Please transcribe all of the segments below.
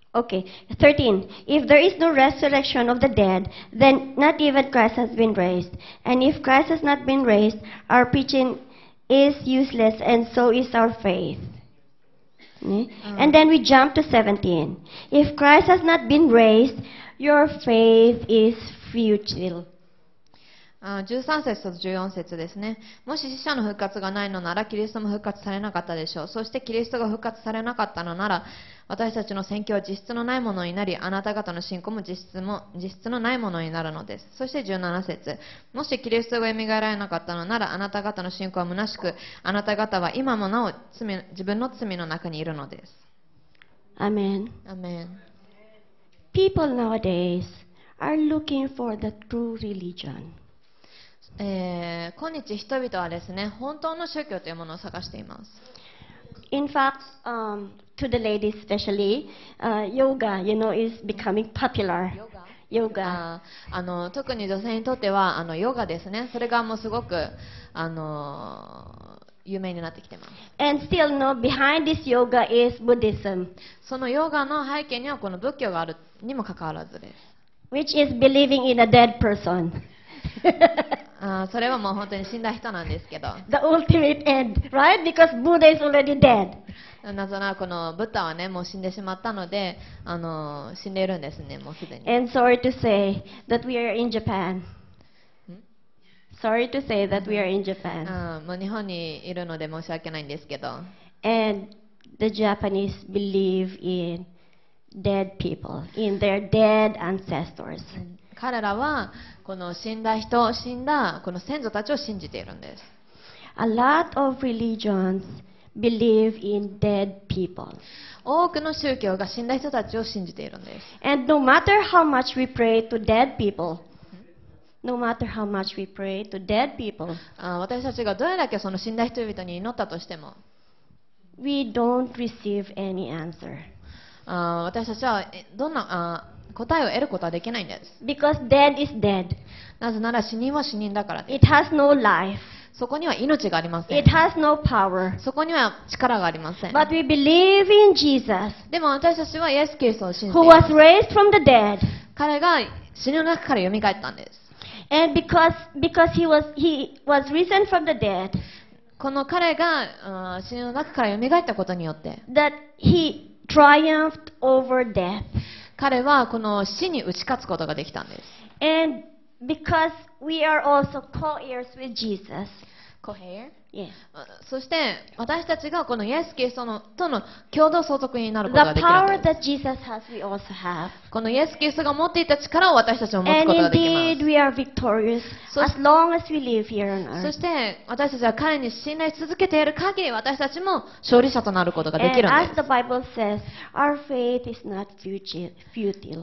Okay, 13. If there is no resurrection of the dead, then not even Christ has been raised. And if Christ has not been raised, our preaching is useless, and so is our faith. And then we jump to 17. If Christ has not been raised, your faith is futile. 13節と14節ですね。もし死者の復活がないのなら、キリストも復活されなかったでしょう。そしてキリストが復活されなかったのなら、私たちの宣教は実質のないものになり、あなた方の信仰も実質のないものになるのです。そして17節。もしキリストが蘇られなかったのなら、あなた方の信仰は虚しく、あなた方は今もなお自分の罪の中にいるのです。 Amen. Amen. People nowadays are looking for the true religion. 今日人々はですね、本当の宗教というものを探しています。 In fact, to the ladies especially, yoga, is becoming popular. Yoga. 特に女性にとってはヨガですね。それがもうすごく有名になってきています。 And still, behind this yoga is Buddhism, そのヨガの背景にはこの仏教があるにもかかわらずです。 which is believing in a dead person. それはもう本当に死んだ人なんですけど。 The ultimate end, right? Because Buddha is already dead. なぜならこのブッダはね、もう死んでしまったので、死んでいるんですね、もうすでに。 And sorry to say that we are in Japan. Sorry to say that we are in Japan. もう日本にいるので申し訳ないんですけど。 And the Japanese believe in dead people, in their dead ancestors. 彼らはこの死んだこの先祖たちを信じているんです。 A lot of religions believe in dead people. 多くの宗教が死んだ人たちを信じているんです。 And no matter how much we pray to dead people, no matter how much we pray to dead people, 私たちがどれだけその死んだ人々に祈ったとしても、 we don't receive any answer. 私たちはどんな答えを得ることはできないんです。 Because dead is dead. なぜなら死人は死人だからです。 It has no life. そこには命がありません。 It has no power. そこには力がありません。 But we believe in Jesus, でも私たちはイエス・キリストを信じて who います。 was raised from the dead. 彼が死の中から蘇ったんです。 And because he was risen from the dead, この彼が死の中から蘇ったことによって、 that he triumphed over death. 彼はこの死に打ち勝つことができたんです。 And because we are also co-heirs with Jesus. Yes. そして私たちがこのイエス・キリストとの共同相続になる The ことができるん power です。 that Jesus has, we also have. このイエス・キリストが持っていた力を私たちも持つ And ことができ indeed, ま we are victorious そ as long as we live here on す。そ earth. して私たちは彼に信頼し続けている限り、私たちも勝利者となることがで And きるん as で the Bible says, our faith is not futile,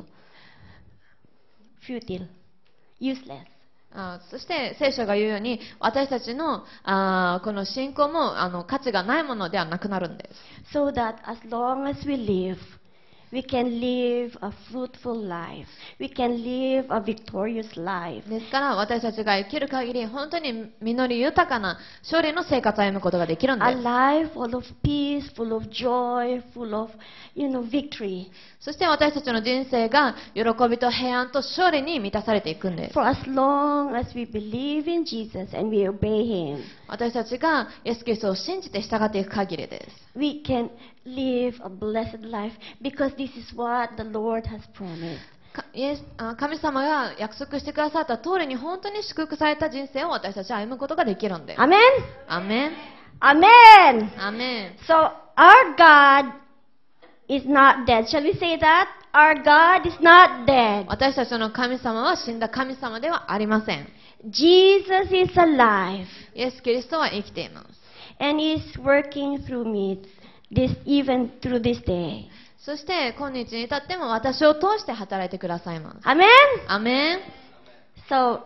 useless. す。そして聖書が言うように、私たちのこの信仰も価値がないものではなくなるんです。 So that as long as we live, we can live a fruitful life. We can live a victorious life. ですから私たちが生きる限り、本当に実り豊かな勝利の生活を歩むことができるんで A す。 life full of peace, full of joy, full of, victory. そして私たちの人生が喜びと平安と勝利に満たされていくんです。 For as long as we believe in Jesus and we obey Him, 私たちがイエス・キリストを信じて従っていく限りです。 we can live a blessed life because this is what the Lord has promised. 神様が約束してくださった通りに本当に祝福された人生を私たちは歩むことができるんです。 Amen? アメン。 Amen! アメン。 So, our God is not dead. Shall we say that? Our God is not dead. 私たちの神様は死んだ神様ではありません。 Jesus is alive イエス・キリストは生きています。 and is working through me even through this day. そして今日に至っても私を通して働いてくださいます。 Amen? アメン。 So,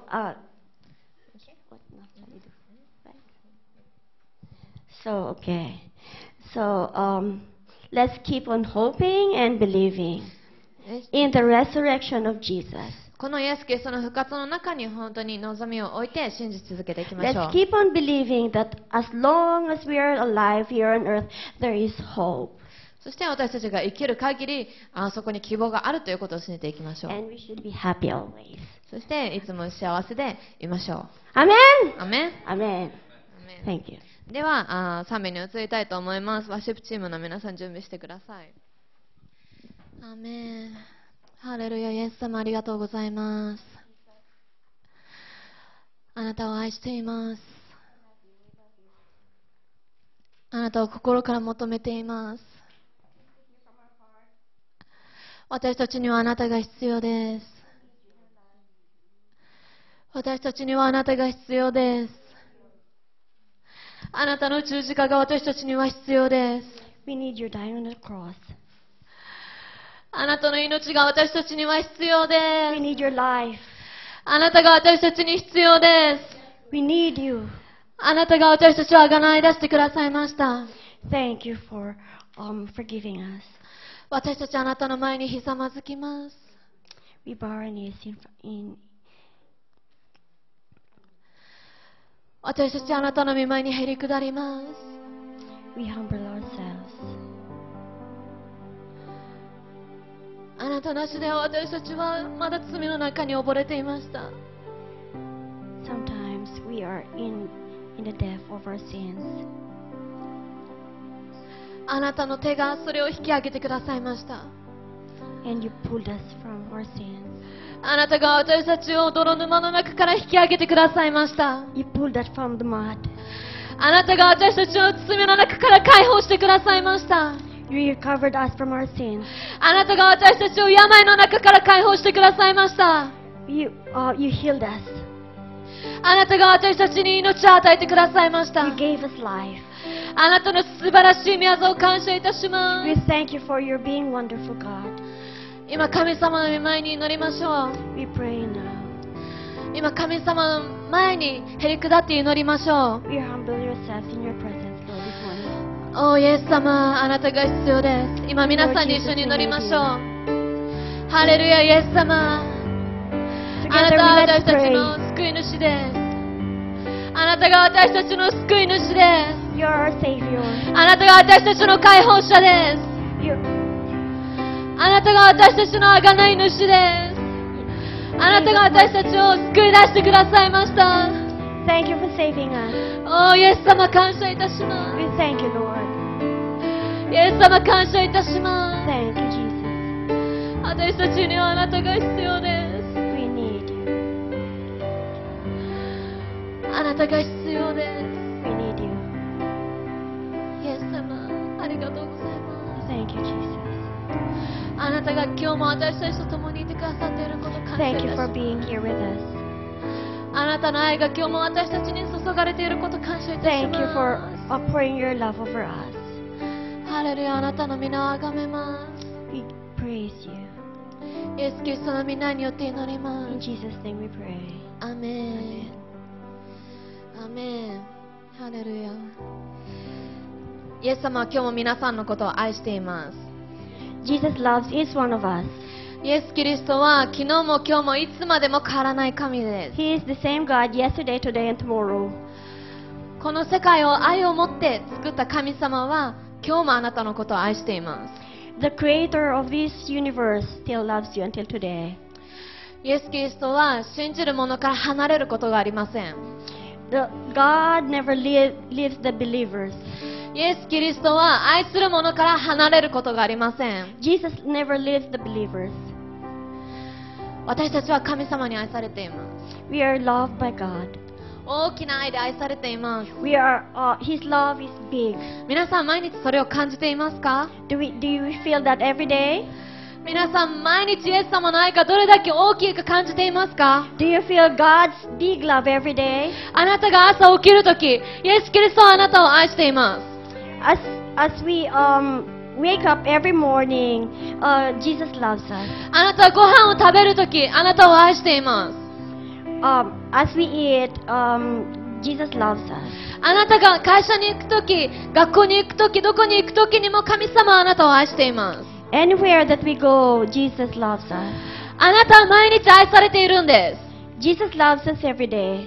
okay. So, let's keep on hoping and believing in the resurrection of Jesus. このイエス・キリストの復活の中に本当に望みを置いて信じ続けていきましょ Let's う。 keep on believing that as long as we are alive here on earth, there is hope. そして私たちが生きる限り、そこに希望があるということを信じていきましょう。 And we should be happy always. そしていつも幸せでいましょう。 Amen! アメン。 Amen. アメン。 Thank you. では賛美に移りたいと思います。ワーシップチームの皆さん準備してください。アメン。ハレルヤ。イエス様ありがとうございます。あなたを愛しています。あなたを心から求めています。私たちにはあなたが必要です。私たちにはあなたが必要です。あなたの十字架が私たちには必要です。 We need your dying on the cross. あなたの命が私たちには必要で We す。 need your life. あなたが私たちに必要です。 We need you. あなたが私たちを贖い出してくださいました。 Thank you for forgiving us. 私たちあなたの前にひざまずきます。 We bow our knees in 私たちあなたの御前にへり下ります。 we humble ourselves. あなたなしでは私たちはまだ罪の中に溺れていました。 Sometimes we are in the depth of our sins. あなたの手がそれを引き上げてくださいました。 And you pulled us from our sins. あなたが私たちを泥沼の中から引き上げてくださいました。 You pulled us from the mud. あなたが私たちを罪の中から解放してくださいました。 You recovered us from our sins. あなたが私たちを病の中から解放してくださいました。 You healed us. あなたが私たちに命を与えてくださいました。 You gave us life. あなたの素晴らしい御業を感謝いたしま We す。 thank you for your being wonderful, God. 今神様の前に祈りましょう。 We pray now. 今神様の前にへり下って祈りましょう。 We humble yourselves in your presence, Lord, this morning. おイエス様、あなたが必要です。今皆さんに一緒に祈りましょう。ハレルヤ、イエス様。あなたは私たちの救い主です。あなたが私たちの救い主です。 You're our Savior. あなたが私たちの解放者です。 あなたが私たちの贖い主です。あなたが私たちを救い出してくださいました。 Thank you for saving us. おイエス様感謝いたしま We thank you, Lord. す。イエス様感謝いたしま Thank you, Jesus. す。私たちにはあなたが必要です。 We need you. あなたが必要です。 We need you. イエス様ありがとうございます。 Thank you, Jesus. あなたが今日も私たちと共にいてくださっていることを感謝い Thank た you し for ます。 being here with us. あなたの愛が今日も私たちに注がれていることを感謝いたし Thank you for ま pouring your love over us. す。ハレルヤ、あなたの皆をあがめま We praise you. す。イエス・キリストの皆によって祈りま In す。 Jesus' name we pray. アメン。アメン。ハレルヤ。イエス様は今日も皆さんのことを愛しています。 Jesus loves each one of us. イエス・キリストは昨日も今日もいつまでも変わらない神です。 He is the same God yesterday, today, and tomorrow. この世界を愛を持って作った神様は今日もあなたのことを愛しています。 The creator of this universe still loves you until today. イエス・キリストは信じる者から離れることがありません。 God never leaves the believers. イエス・キリストは愛する者から離れることがありません。 Jesus never leaves the believers. 私たちは神様に愛されています。 We are loved by God. 大きな愛で愛されています。 His love is big. 皆さん毎日それを感じていますか？ Do you feel that every day? 皆さん毎日イエス様の愛がどれだけ大きいか感じていますか？ Do you feel God's big love every day? あなたが朝起きるとき、イエス・キリストはあなたを愛しています。 As we wake up every morning, Jesus loves us. あなたはご飯を食べるとき、あなたを愛しています。 As we eat, Jesus loves us. あなたが会社に行くとき、学校に行くとき、どこに行くときにも神様はあなたを愛しています。 Anywhere that we go, Jesus loves us. あなたは毎日愛されているんです。 Jesus loves us every day.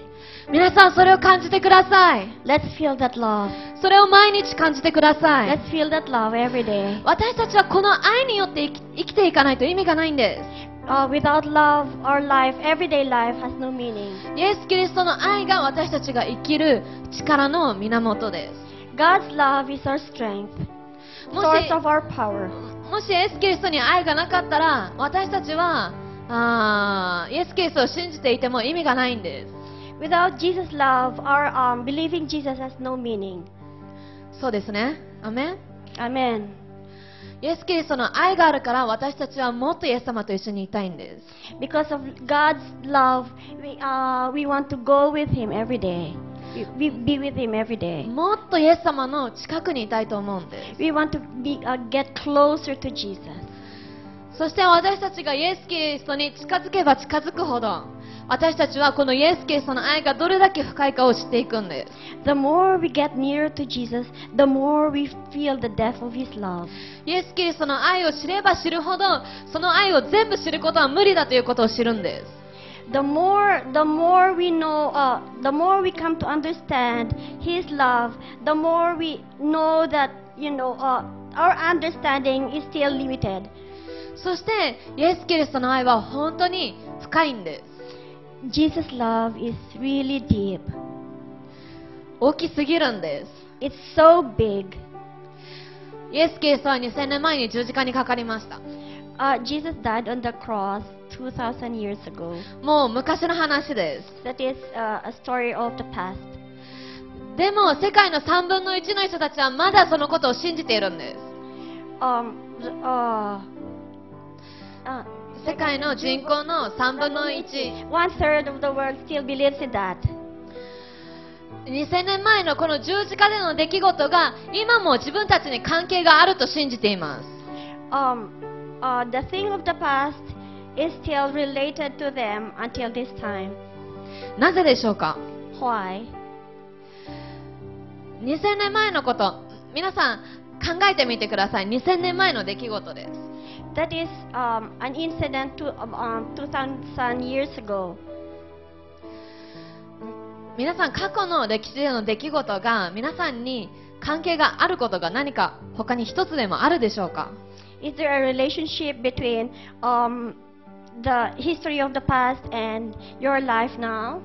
皆さんそれを感じてください。 Let's feel that love. それを毎日感じてください。 Let's feel that love every day. 私たちはこの愛によって生きていかないと意味がないんで Without love, our life, everyday life, has no meaning. す。イエス・キリストの愛が私たちが生きる力の源です。 God's love is our strength, も source of our power. しイエス・キリストに愛がなかったら私たちはイエス・キリストを信じていても意味がないんです。 Without Jesus' love, our believing Jesus has no meaning. そうですね。アメン。 Amen. イエス・キリストの愛があるから私たちはもっとイエス様と一緒にいたいんです。 Because of God's love, we want to go with Him every day. We be with Him every day. もっとイエス様の近くにいたいと思うんです。 We want to get closer to Jesus. そして私たちがイエス・キリストに近づけば近づくほど私たちはこのイエス・キリストの愛がどれだけ深いかを知っていくんです。 The more we get nearer to Jesus, the more we feel the depth of His love. イエス・キリストの愛を知れば知るほどその愛を全部知ることは無理だということを知るんです。 The more we know, the more we come to understand His love, the more we know that our understanding is still limited. そしてイエス・キリストの愛は本当に深いんです。 Jesus' love is really deep. 大きすぎるんです。 It's so big. イエス・キリストは2000年前に十字架にかかりました。 Jesus died on the cross 2,000 years ago. もう昔の話です。 That is a story of the past. でも世界の3分の1の人たちはまだそのことを信じているんです。 世界の人口の3分の1、 1/3 of the world still believes in that. 2000年前のこの十字架での出来事が今も自分たちに関係があると信じています。 The thing of the past is still related to them until this time. なぜでしょうか。 Why? 2000年前のこと、皆さん考えてみてください。2000年前の出来事です。 That is an incident 2,000 years ago. 皆さん過去の歴史での出来事が皆さんに関係があることが何か他に一つでもあるでしょうか。 Is there a relationship between the history of the past and your life now?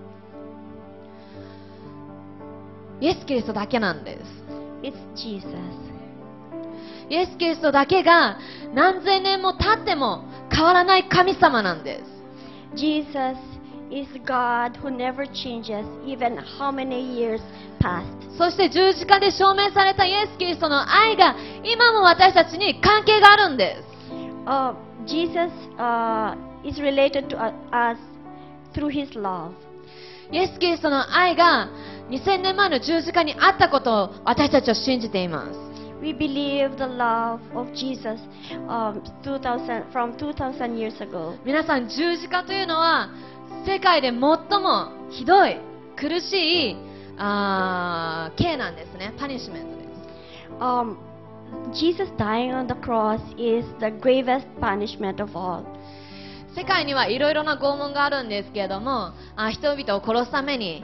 イエス・キリストだけなんです。 It's Jesus. イエス・キリストだけが何千年も経っても変わらない神様なんです。 Jesus is God who never changes, even how many years passed. そして十字架で証明されたイエス・キリストの愛が今も私たちに関係があるんです。 Jesus is related to us through His love. イエス・キリストの愛が2000年前の十字架にあったことを私たちは信じています。 We believe the love of Jesus from 2,000 years ago. 皆さん、十字架というのは世界で最もひどい苦しい刑なんですね。パニッシュメントです。 Jesus dying on the cross is the gravest punishment of all. 世界にはいろいろな拷問があるんですけれども、人々を殺すために、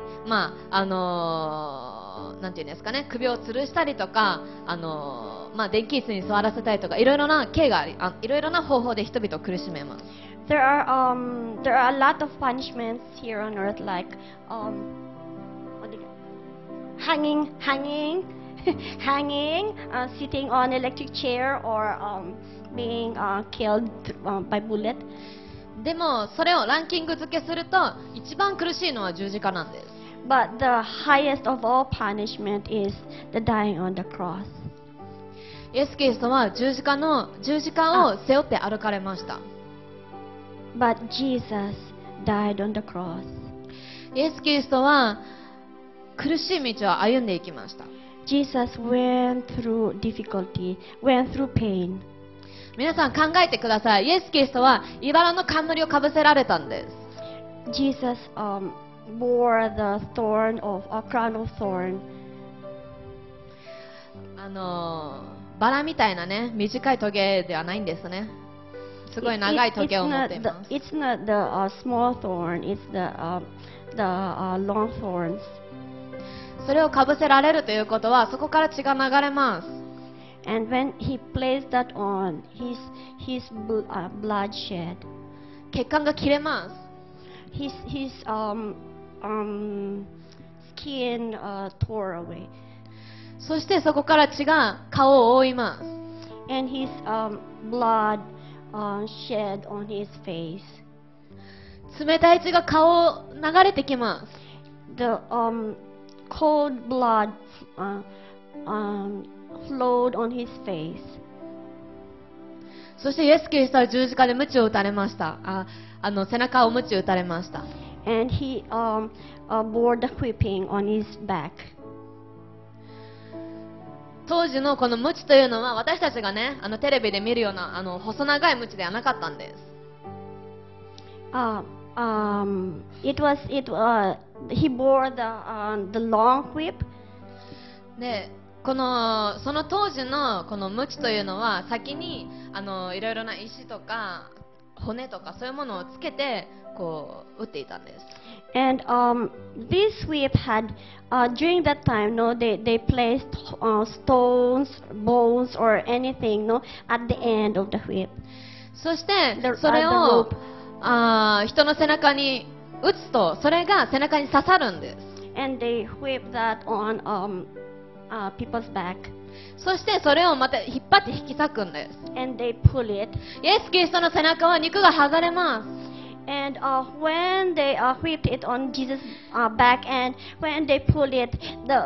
なんていうんですかね、首を吊るしたりとか、電気椅子に座らせたりとか、いろいろな刑があり、いろいろな方法で人々を苦しめます。 There are a lot of punishments here on earth, like hanging, sitting on electric chair, or being killed by bullet. でもそれをランキング付けすると一番苦しいのは十字架なんです。 But the highest of all punishment is the dying on the cross. イエス・キリストは十字架を背負って歩かれました。 But Jesus died on the cross. イエス・キリストは苦しい道を歩んでいきました。 Jesus went through difficulty, went through pain. 皆さん考えてください。イエス・キリストは茨の冠をかぶせられたんです。 Jesus bore the thorn of a crown of thorn. バラみたいなね、短いトゲではないんですね。 すごい長いトゲを持っています。 It's not the small thorn, it's the long thorns. それをかぶせられるということは、そこから血が流れます。 And when he placed that on, his blood shed. 血管が切れます。 His skin tore away. そしてそこから血が顔を覆います。 And his blood shed on his face. 冷たい血が顔を流れてきます。 The cold blood flowed on his face. そしてイエス・キリストは十字架で鞭を打たれました。背中を鞭打たれました。 And he bore the whipping on his back. 当時のこの鞭というのは、私たちがね、テレビで見るような細長い鞭ではなかったんです。 He bore the long whip. で、その当時のこの鞭というのは、先にいろいろな石とか骨とかそういうものをつけてこう打っていたんです。 And this whip had, during that time, no, they placed stones, bones, or anything, no, at the end of the whip. そして The- それ the を rope. 人の背中に打つと、それが背中に刺さるんです。 And they whipped that on people's back. そしてそれをまた引っ張って引き裂くんです。 And they pull it. イエス・キリストの背中は肉が剥がれます。 And when they whipped it on Jesus' back, and when they pulled it,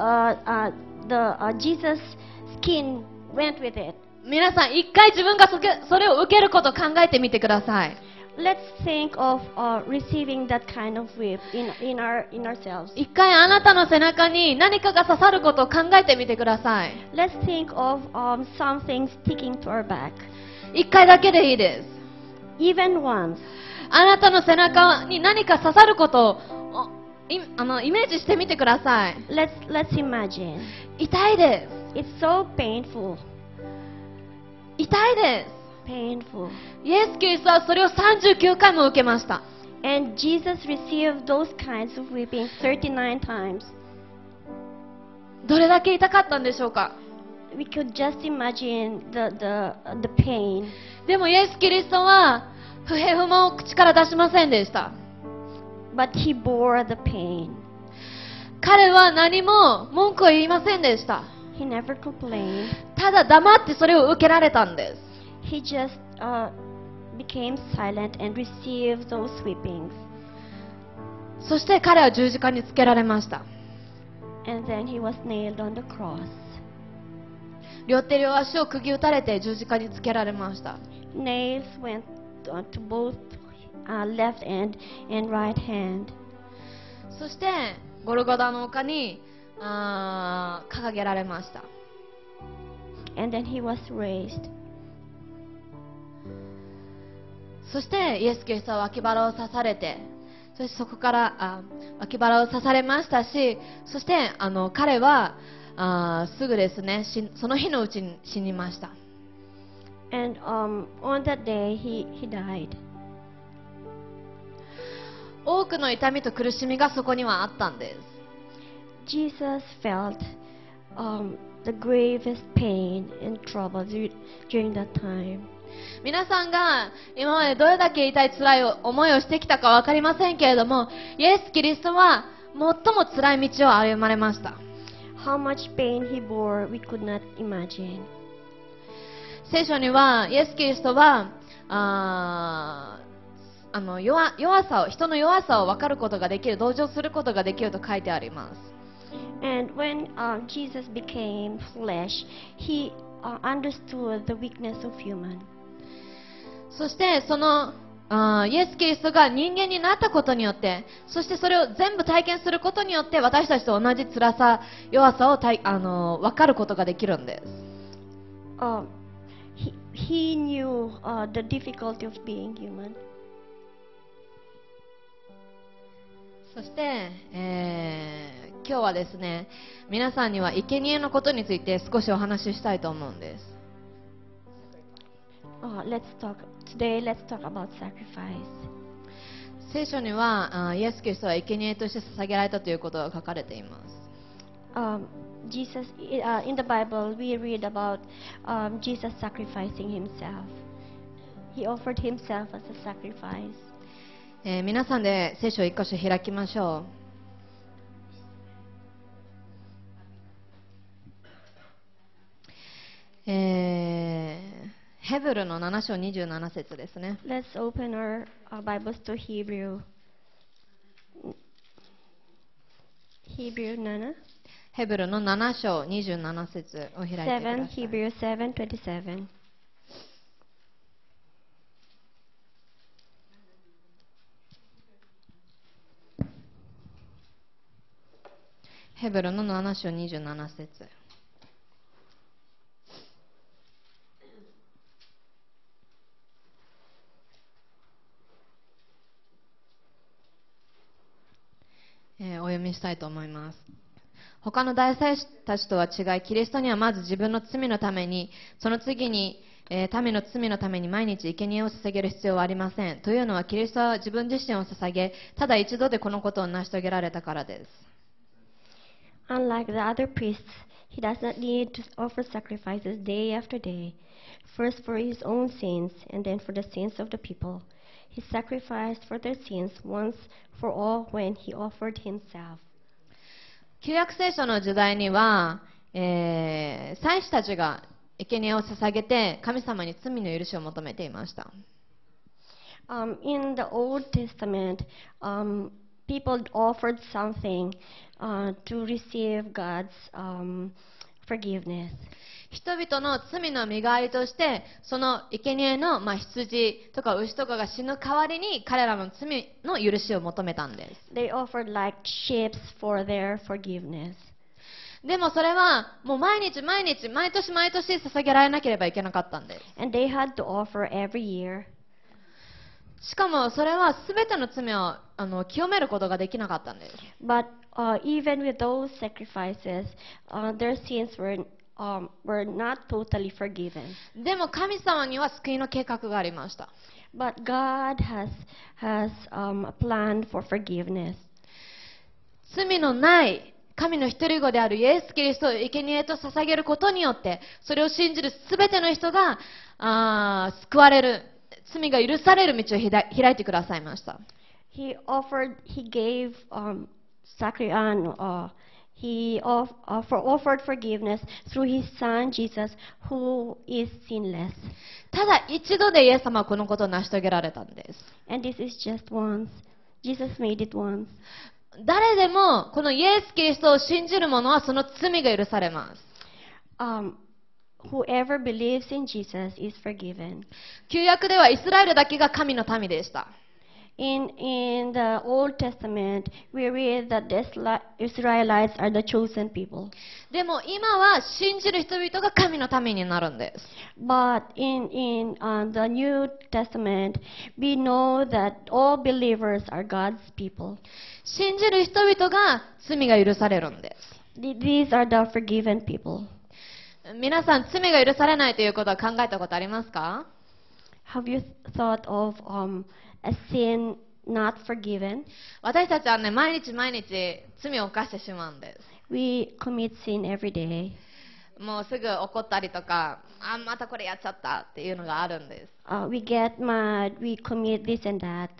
the Jesus' skin went with it. 皆さん、一回自分がそれを受けることを考えてみてください。 Let's think of receiving that kind of whip in ourselves. 一回あなたの背中に何かが刺さることを考えてみてください。 Let's think of something sticking to our back. 一回だけでいいです。 Even once. あなたの背中に何か刺さることをイメージしてみてください。 Let's imagine. 痛いで It's so painful. す。痛いで Painful. す。イエス・キリストはそれを39回も受けました。 And Jesus received those kinds of whipping 39 times. どれだけ痛かったんでしょうか。 We could just imagine the pain. でもイエス・キリストは不平不満を口から出しませんでした。 But he bore the pain. 彼は何も文句を言いませんでした。 He never complained. ただ黙ってそれを受けられたんです。 He just became silent and received those whippings. そして彼は十字架につけられました。 And then he was nailed on the cross. 両手両足を釘打たれて十字架につけられました。 Nails went to both left hand and right hand. そしてゴルゴダの丘に掲げられました。 And then he was raised. そしてイエス・キリストは脇腹を刺されて、そしてそこから脇腹を刺されましたし、そして彼はすぐですね、その日のうちに死にました。 And on that day he died. 多くの痛みと苦しみがそこにはあったんです。 Jesus felt the gravest pain and trouble during that time. 皆さんが今までどれだけ痛い辛い思いをしてきたか分かりませんけれども、イエス・キリストは最も辛い道を歩まれました。 How much pain he bore, we could not imagine. 聖書にはイエス・キリストは人の弱さを分かることができる、同情することができると書いてあります。 And when Jesus became flesh, he understood the weakness of human. そしてそのイエス・キリストが人間になったことによって、そしてそれを全部体験することによって、私たちと同じ辛さ、弱さを分かることができるんです。 He knew the difficulty of being human. そして、今日はですね、皆さんには生贄のことについて少しお話ししたいと思うんです。 Let's talk Today, let's talk about sacrifice. 聖書にはイエス・キリストは生贄として捧げられたということが書かれています。 Jesus, in the Bible, we read about Jesus sacrificing himself. He offered himself as a sacrifice. 皆さんで聖書を一箇所開きましょう。ヘブルの7章27節ですね。 Let's open our Bibles to Hebrew 7. ヘブルの7章27節を開いてください。 Hebrew 7:27. ヘブルの7章27節。お読みしたいと思います。他の大祭司たちとは違い、キリストにはまず自分の罪のために、その次に、民の罪のために毎日生贄を捧げる必要はありません。というのは、キリストは自分自身を捧げ、ただ一度でこのことを成し遂げられたからです。 Unlike the other priests, he does not need to offer sacrifices day after day, first for his own sins and then for the sins of the people. He sacrificed for their sins once for all when he offered himself. 旧約聖書の時代には、祭司たちが生贄を捧げて神様に罪の許しを求めていました。 In the Old Testament, people offered something to receive God's forgiveness. 人々の罪の身代わりとして、その生贄の、羊とか牛とかが死ぬ代わりに彼らの罪の許しを求めたんです。 They offered like sheep for their forgiveness. でもそれはもう毎日毎年捧げられなければいけなかったんです。 And they had to offer every year. しかもそれは全ての罪を清めることができなかったんです。 But even with those sacrifices, their sins were not totally forgiven. でも神様には救いの計画がありました。 But God has a plan for forgiveness. 罪のない神の一人子であるイエス・キリストを生贄と捧げることによって、それを信じるすべての人が救われる、罪が許される道を開いてくださいました。 He gave He offered forgiveness through his son Jesus, who is sinless. ただ一度でイエス様はこのことを成し遂げられたんです。 And this is just once. Jesus made it once. 誰でもこのイエス・キリストを信じる者はその罪が許されます。 Whoever believes in Jesus is forgiven. 旧約ではイスラエルだけが神の民でした。 In the Old Testament, we read that the Israelites are the chosen people. でも今は信じる人々が神の民になるんです。 But in the New Testament, we know that all believers are God's people. 信じる人々が罪が許されるんです。 These are the forgiven people. 皆さん、罪が許されないということは考えたことありますか？ Have you thought of a sin not forgiven? 私たちはね、毎日罪を犯してしまうんです。 We commit sin every day. もうすぐ怒ったりとか、またこれやっちゃったっていうのがあるんです。 We get mad, we commit this and that.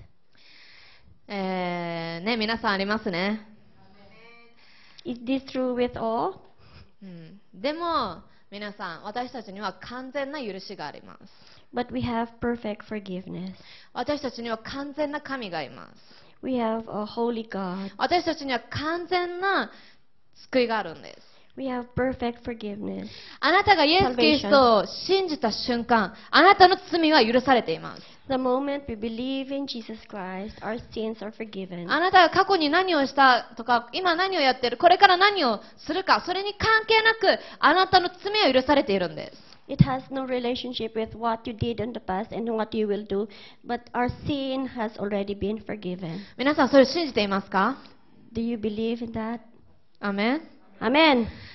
ね、皆さんありますね。 Is this true with all? でも皆さん、私たちには完全な許しがあります。 But we have perfect forgiveness. 私たちには完全な神がいます。 We have a holy God. 私たちには完全な救いがあるんです。 We have perfect forgiveness. あなたがイエス・キリストを信じた瞬間、あなたの罪は許されています。 The moment we believe in Jesus Christ, our sins are forgiven. あなたが過去に何をしたとか、今何をやっている、これから何をするか、それに関係なく、あなたの罪は許されているんです。 It has no relationship with what you did in the past and what you will do, but our sin has already been forgiven. 皆さん、それを信じていますか？ Do you believe in that? アメン。 Amen.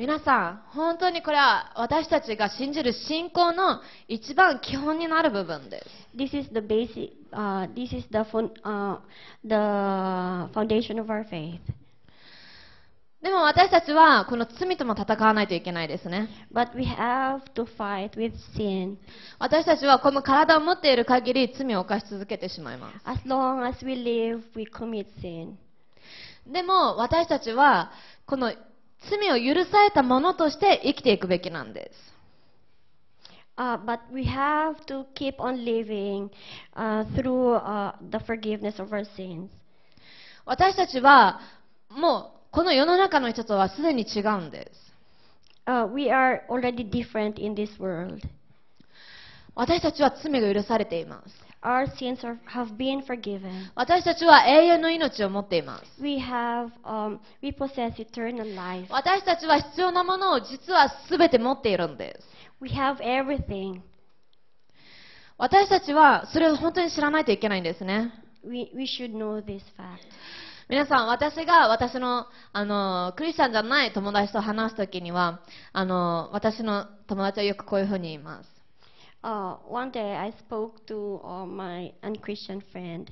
皆さん、本当にこれは私たちが信じる信仰の一番基本になる部分です。 This is the basic. This is the foundation of our faith. でも私たちはこの罪とも戦わないといけないですね。 But we have to fight with sin. 私たちはこの体を持っている限り罪を犯し続けてしまいます。 As long as we live, we commit sin. でも私たちはこの罪を許されたものとして生きていくべきなんです。 But we have to keep on living through the forgiveness of our sins. 私たちはもうこの世の中の人とはすでに違うんです。 We are already different in this world. 私たちは罪が許されています。 Our sins have been forgiven. 私たちは永遠の命を持っています。 We possess eternal life. 私たちは必要なものを実は全て持っているんです。 We have everything. 私たちはそれを本当に知らないといけないんですね。 We should know this fact. 皆さん、私が私の、クリスチャンじゃない友達と話すときには、私の友達はよくこういうふうに言います。 One day I spoke to my unchristian friend.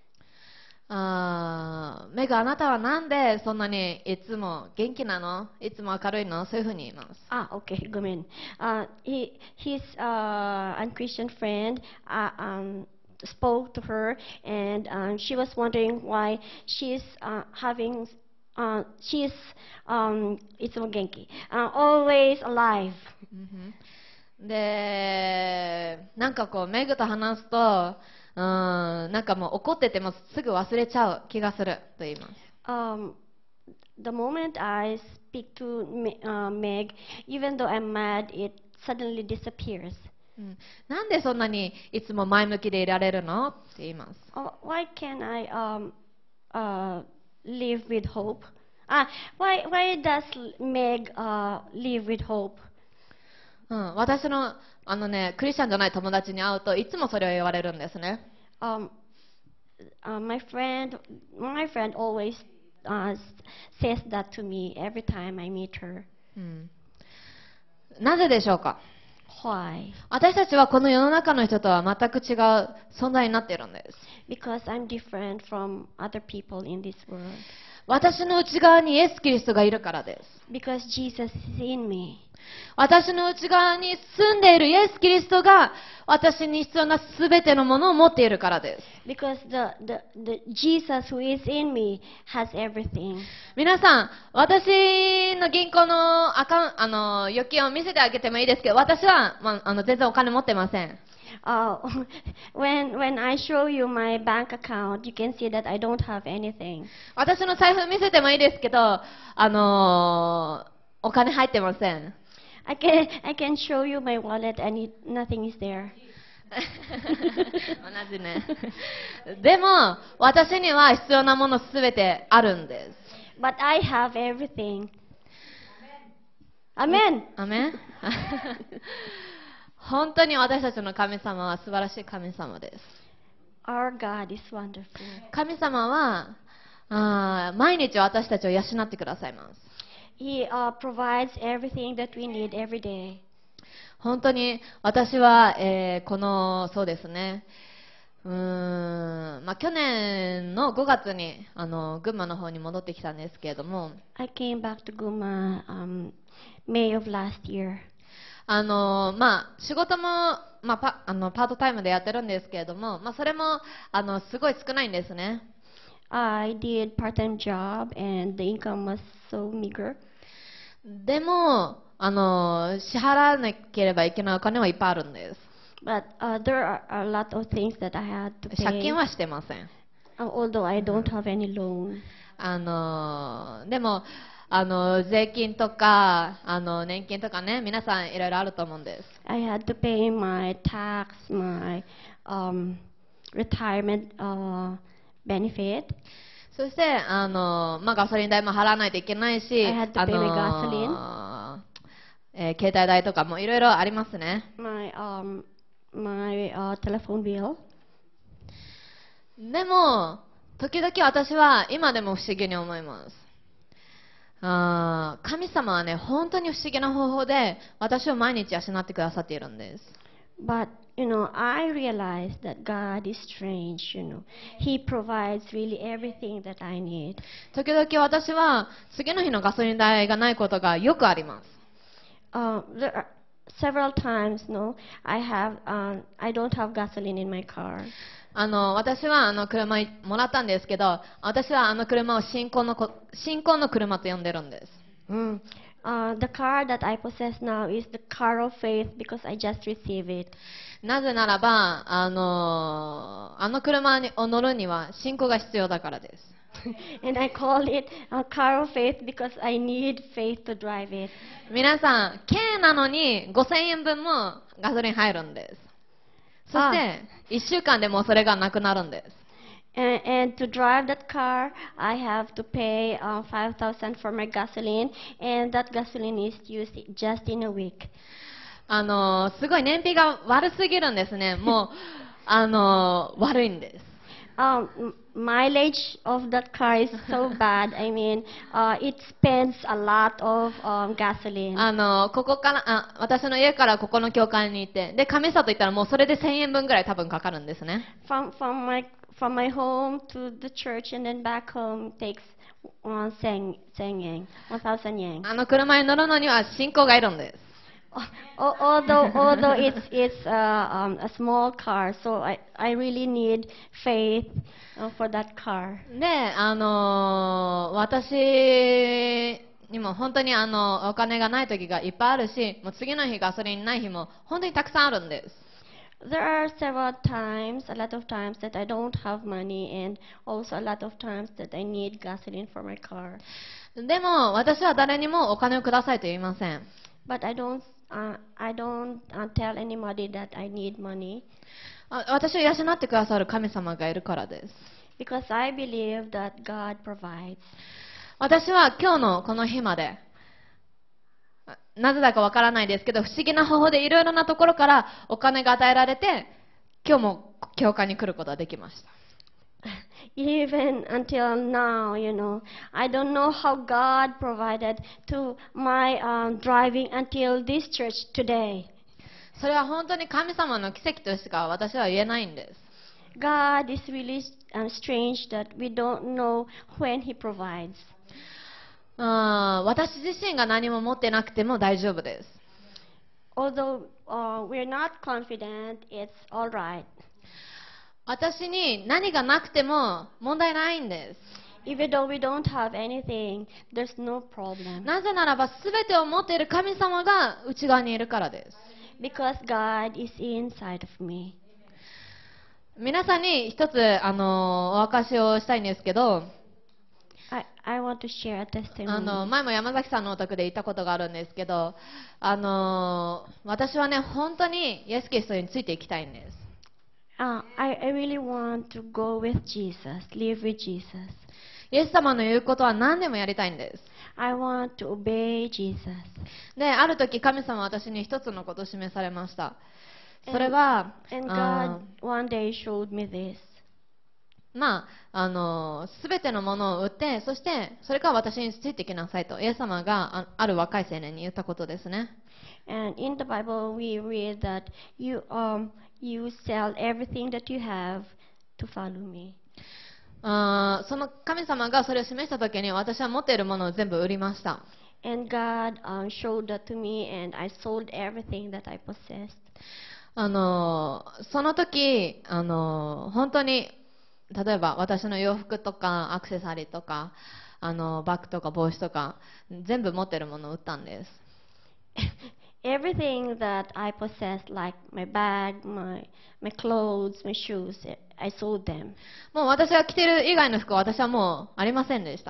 メグ、あなたはなんでそんなにいつも元気なの？いつも明るいの？そういうふうに言います。 Okay, go in. His unchristian friend spoke to her, and she was wondering why she's itsumo genki, always alive. で、なんかこう、メグと話すと、なんかもう怒っててもすぐ忘れちゃう気がすると言います。 The moment I speak to Meg, even though I'm mad, it suddenly disappears. なんでそんなにいつも前向きでいられるのって言います。 Why can't I live with hope? Why does Meg live with hope? 私のクリスチャンじゃない友達に会うといつもそれを言われるんですね。 My friend always says that to me every time I meet her. なぜでしょうか？ Why? 私たちはこの世の中の人とは全く違う存在になっているんです。 Because I'm different from other people in this world. 私の内側にイエス・キリストがいるからです。 Because Jesus is in me. 私の内側に住んでいるイエス・キリストが私に必要なすべてのものを持っているからです。 Because the Jesus who is in me has everything. 皆さん、私の銀行の預金を見せてあげてもいいですけど、私は、全然お金持ってません。 When I show you my bank account, you can see that I don't have anything. 私の財布見せてもいいですけど、お金入ってません。 I can show you my wallet and nothing is there. 同じね。でも、私には必要なものすべてあるんです。 But I have everything. Amen. アメン。本当に私たちの神様は素晴らしい神様です。 Our God is wonderful. 神様は毎日私たちを養ってくださいます。 He provides everything that we need every day. 本当に私は、そうですね、去年の5月に群馬の方に戻ってきたんですけれども、 I came back to Guma May of last year. 仕事も、パートタイムでやってるんですけれども、それもすごい少ないんですね。 I did part-time job and the income was so meager. でも支払わなければいけないお金はいっぱいあるんです。 But there are a lot of things that I had to 借 pay. 金はしてません。 Although I don't have any loan. でも税金とか年金とかね、皆さんいろいろあると思うんです。 I had to pay my tax, my retirement benefit. そしてガソリン代も払わないといけないし、 I had to pay my gasoline. 携帯代とかもいろいろありますね。 My telephone bill. でも時々私は今でも不思議に思います。 神様はね、本当に不思議な方法で私を毎日養ってくださっているんです。 But, I realize that God is strange, He provides really everything that I need. 時々私は次の日のガソリン代がないことがよくあります。 There are several times, I don't have gasoline in my car. 私は車もらったんですけど、私は車を信仰の車と呼んでるんです。 The car that I possess now is the car of faith because I just received it. なぜならば、車を乗るには信仰が必要だからです。 And I call it a car of faith because I need faith to drive it. 皆さん、軽なのに5000円分もガソリン入るんです。そして、1週間でもうそれがなくなるんです。 And to drive that car, I have to pay 5,000 for my gasoline, and that gasoline is used just in a week. すごい燃費が悪すぎるんですね。もう、悪いんです。 Mileage of that car is so bad. I mean, it spends a lot of gasoline. ここから、私の家からここの教会に行って、で、上里行ったらもうそれで1000円分ぐらい多分かかるんですね。 From my home to the church and then back home takes 1,000 yen. 車に乗るのには信仰がいるんです。 Although it's a small car, so I really need faith for that car. で、私にも本当にお金がない時がいっぱいあるし、もう次の日ガソリンない日も本当にたくさんあるんです。 There are a lot of times that I don't have money, and also a lot of times that I need gasoline for my car. でも私は誰にもお金をくださいと言いません。 But I don't tell anybody that I need money. 私を養ってくださる神様がいるからです。 Because I believe that God provides. 私は今日のこの日まで、なぜだかわからないですけど、不思議な方法でいろいろなところからお金が与えられて、今日も教会に来ることができました。 Even until now, I don't know how God provided to my driving until this church today. それは本当に神様の奇跡としか私は言えないんです。 God is really strange that we don't know when He provides. 私自身が何も持ってなくても大丈夫です。 Although we're not confident, it's all right. 私に何がなくても問題ないんです。 Even though we don't have anything, there's no problem. なぜならば全てを持っている神様が内側にいるからです。 Because God is inside of me. 皆さんに一つお証しをしたいんですけど、 I want to share a testimony. 前も山崎さんのお宅で言ったことがあるんですけど、私はね、本当にイエス・キリストについていきたいんです。 I really want to go with Jesus, live with Jesus. イエス様の言うことは何でもやりたいんです。 I want to obey Jesus. で、ある時神様は私に一つのことを示されました。それは、 And God one day showed me this. すべてのものを売って、そしてそれから私についてきなさいと、イエス様がある若い青年に言ったことですね。 And in the Bible we read that you sell everything that you have to follow me. その神様がそれを示したときに私は持っているものを全部売りました。 And God showed that to me, and I sold everything that I possessed. その時本当に例えば私の洋服とかアクセサリーとかバッグとか帽子とか全部持っているものを売ったんです。 Everything that I possessed, like my bag, my clothes, my shoes, I sold them. もう私が着ている以外の服は私はもうありませんでした。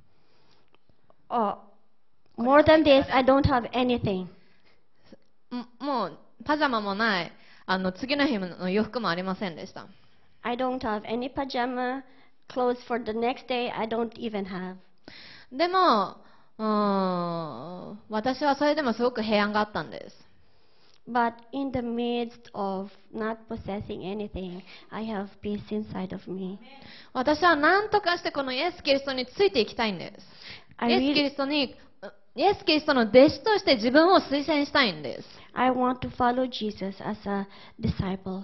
More than this, I don't have anything. もうパジャマもない、次の日の洋服もありませんでした。 I don't have any pajama clothes for the next day. I don't even have. でも私はそれでもすごく平安があったんです。 But in the midst of not possessing anything, I have peace inside of me. 私は何とかしてこのイエス・キリストについていきたいんです。 I イエス・キ really, リストに、イエス・キリストの弟子として自分を推薦したいんです。 I want to follow Jesus as a disciple.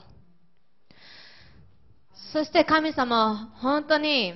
そして神様は本当に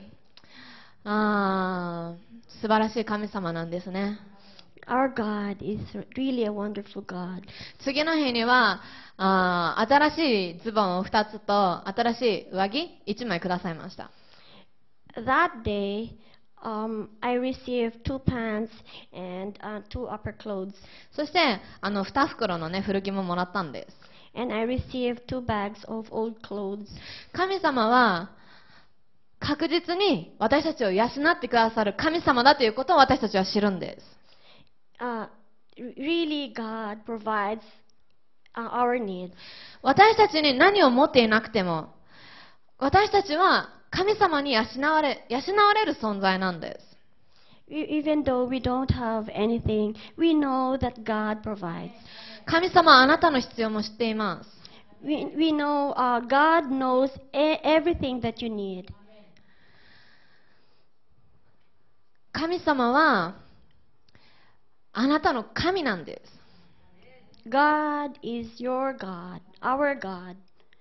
素晴らしい神様なんですね。 Our God is really a wonderful God. 次の日には新しいズボンを2つと新しい上着1枚くださいました。 That day, I received 2 pants and 2 upper clothes. そして2袋の、ね、古着ももらったんです。 And I received 2 bags of old clothes. 神様は確実に私たちを養ってくださる神様だということを私たちは知るんです。 Really, God provides our needs. 私たちに何を持っていなくても私たちは神様に養われる存在なんです。 Even though we don't have anything, we know that God provides. 神様はあなたの必要も知っています。 We know God knows everything that you need. 神様はあなたの神なんです。 God is your God, our God.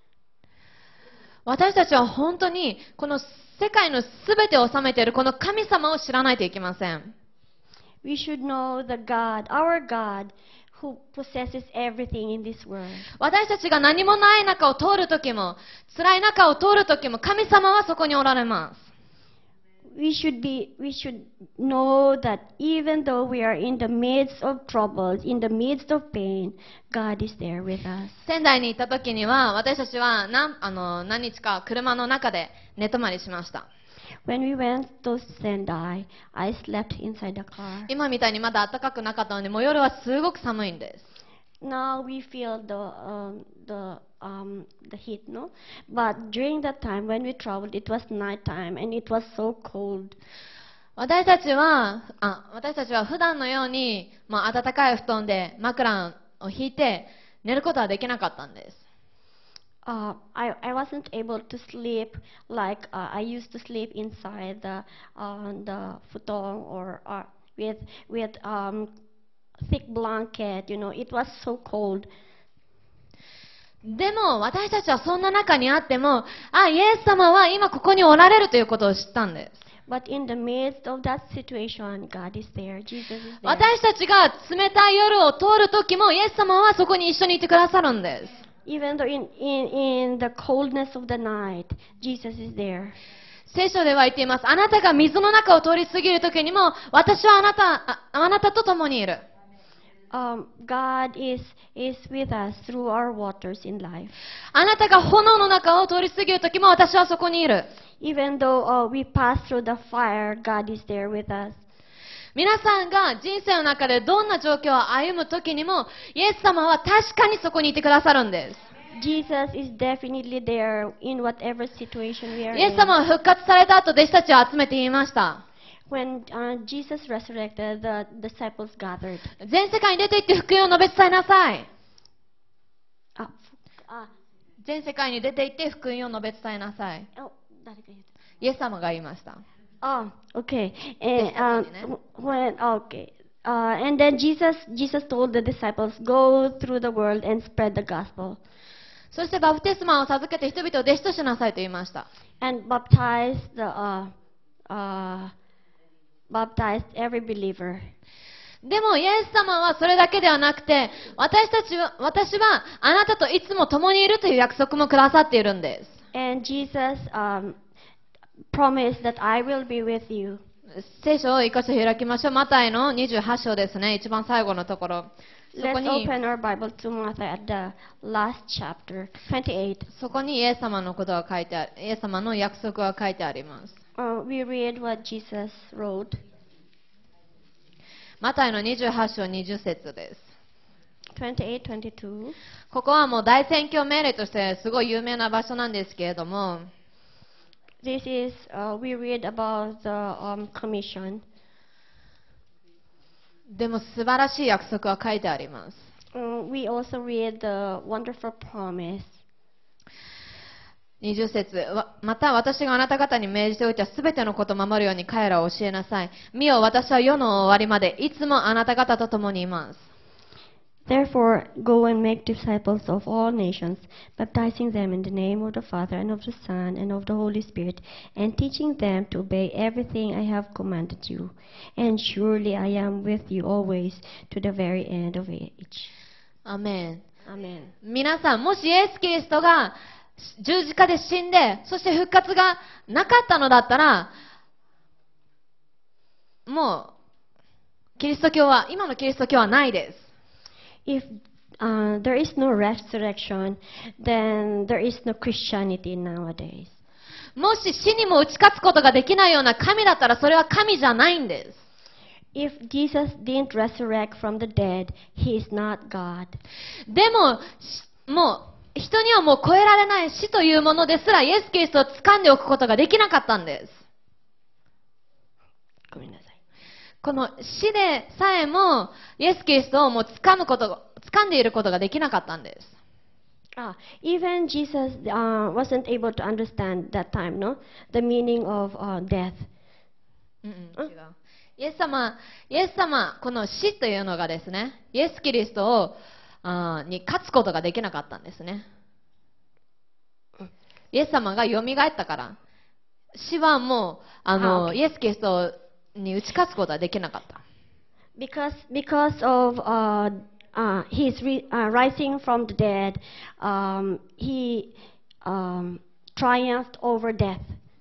私たちは本当にこの世界のすべてを治めているこの神様を知らないといけません。 We should know the God, our God, who possesses everything in this world. 私たちが何もない中を通るときも辛い中を通るときも神様はそこにおられます。 We should know that even though we are in the midst of troubles, in the midst of pain, God is there with us. 仙台に行ったときには私たちは何日か車の中で寝泊まりしました。 When we went to Sendai, I slept inside the car. 今みたいにまだ暖かくなかったのでもう夜はすごく寒いんです。 Now we feel the heat, no? But during that time when we traveled, it was nighttime and it was so cold. 私たちは普段のように、暖かい布団で枕を引いて寝ることはできなかったんです。 I wasn't able to sleep like I used to sleep inside the futon or with thick blanket. You know, it was so cold. でも私たちはそんな中にあっても、イエス様は今ここにおられるということを知ったんです。 But in the midst of that situation, God is there. Jesus is there. 私たちが冷たい夜を通るときもイエス様はそこに一緒にいてくださるんです。 Even though in the coldness of the night, Jesus is there. 聖書では言っています。あなたが水の中を通り過ぎるときにも私はあなたと共にいる。 God is with us through our waters in life. あなたが炎の中を通り過ぎるときも私はそこにいる。 Even though we pass through the fire, God is there with us. 皆さんが人生の中でどんな状況を歩むときにもイエス様は確かにそこにいてくださるんです。 Jesus is definitely there in whatever situation we are イエス様 in. は復活された後弟子たちを集めて言いました。 When Jesus resurrected, the disciples gathered. 全世界に出て行って福音を述べ伝えなさい。全世界に出て行って福音を述べ伝えなさい。イエス様が言いました。 Okay. And then Jesus told the disciples, go through the world and spread the gospel. そしてバプテスマを授けて人々を弟子としなさいと言いました。 And baptize every believer. でもイエス様はそれだけではなくて、私はあなたといつも共にいるという約束もくださっているんです。 And Jesus promised that I will be with you. 聖書を一箇所開きましょう。マタイの28章ですね。一番最後のところ。 Let's open our Bible to Matthew at the last chapter, 28. そこにイエス様のことが書いてある。イエス様の約束が書いてあります。 We read what Jesus wrote. マタイの28章20節です。 28, 22. ここはもう大宣教命令としてすごい有名な場所なんですけれども、 This is, we read about the commission. でも素晴らしい約束が書いてあります。 We also read the wonderful promise. 20節また私があなた方に命じておいたすべてのことを守るように彼らを教えなさい。見よ、私は世の終わりまでいつもあなた方と共にいます。 Therefore, go and make disciples of all nations, baptizing them in the name of the Father and of the Son and of the Holy Spirit, and teaching them to obey everything I have commanded you. And surely I am with you always to the very end of age. アメン。 Amen. 皆さん、もしイエス・キリストが十字架で死んで、そして復活がなかったのだったら、もう、キリスト教は、今のキリスト教はないです。 If there is no resurrection, then there is no Christianity nowadays. もし死にも打ち勝つことができないような神だったら、それは神じゃないんです。 If Jesus didn't resurrect from the dead, he is not God. でも、もう、人にはもう超えられない死というものですら、イエス・キリストを掴んでおくことができなかったんです。 ごめんなさい。 この死でさえも、イエス・キリストをもう掴んでいることができなかったんです。 Even Jesus wasn't able to understand that time, no? The meaning of death. 違う。イエス様、この死というのがですね、イエス・キリストに勝つことができなかったんですね。イエス様が蘇ったから、死はもう、イエス・キリストに打ち勝つことはできなかった。 Because of his rising from the dead, he triumphed over death.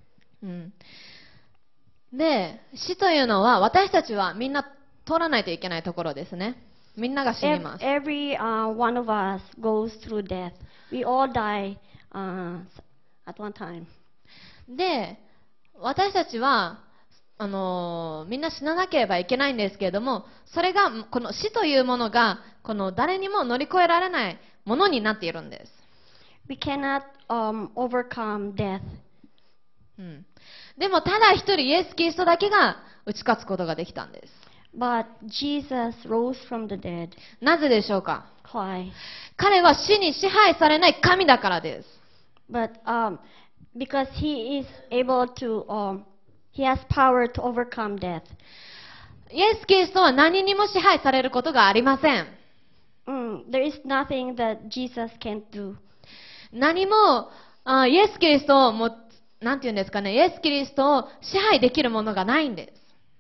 で、死というのは私たちはみんな通らないといけないところですね。みんなが死にます。 Every one of us goes through death. We all die at one time. で、私たちはみんな死ななければいけないんですけれども、それがこの死というものがこの誰にも乗り越えられないものになっているんです。 We cannot overcome death. でもただ一人イエス・キリストだけが打ち勝つことができたんです。 But Jesus rose from the dead. なぜでしょうか？ Why? 彼は死に支配されない神だからです。 But because he is able to, he has power to overcome death. イエス・キリストは何にも支配されることがありません。 There is nothing that Jesus can't do. 何もイエス・キリストをなんていうんですかね、イエス・キリストを支配できるものがないんです。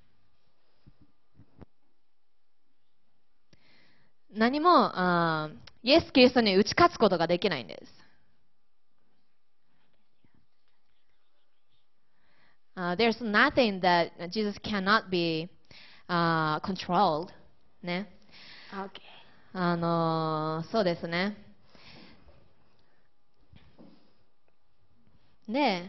何もイエス・キリストに打ち勝つことができないんです。There's nothing that Jesus cannot be controlled. ね。 Okay. そうですね。で、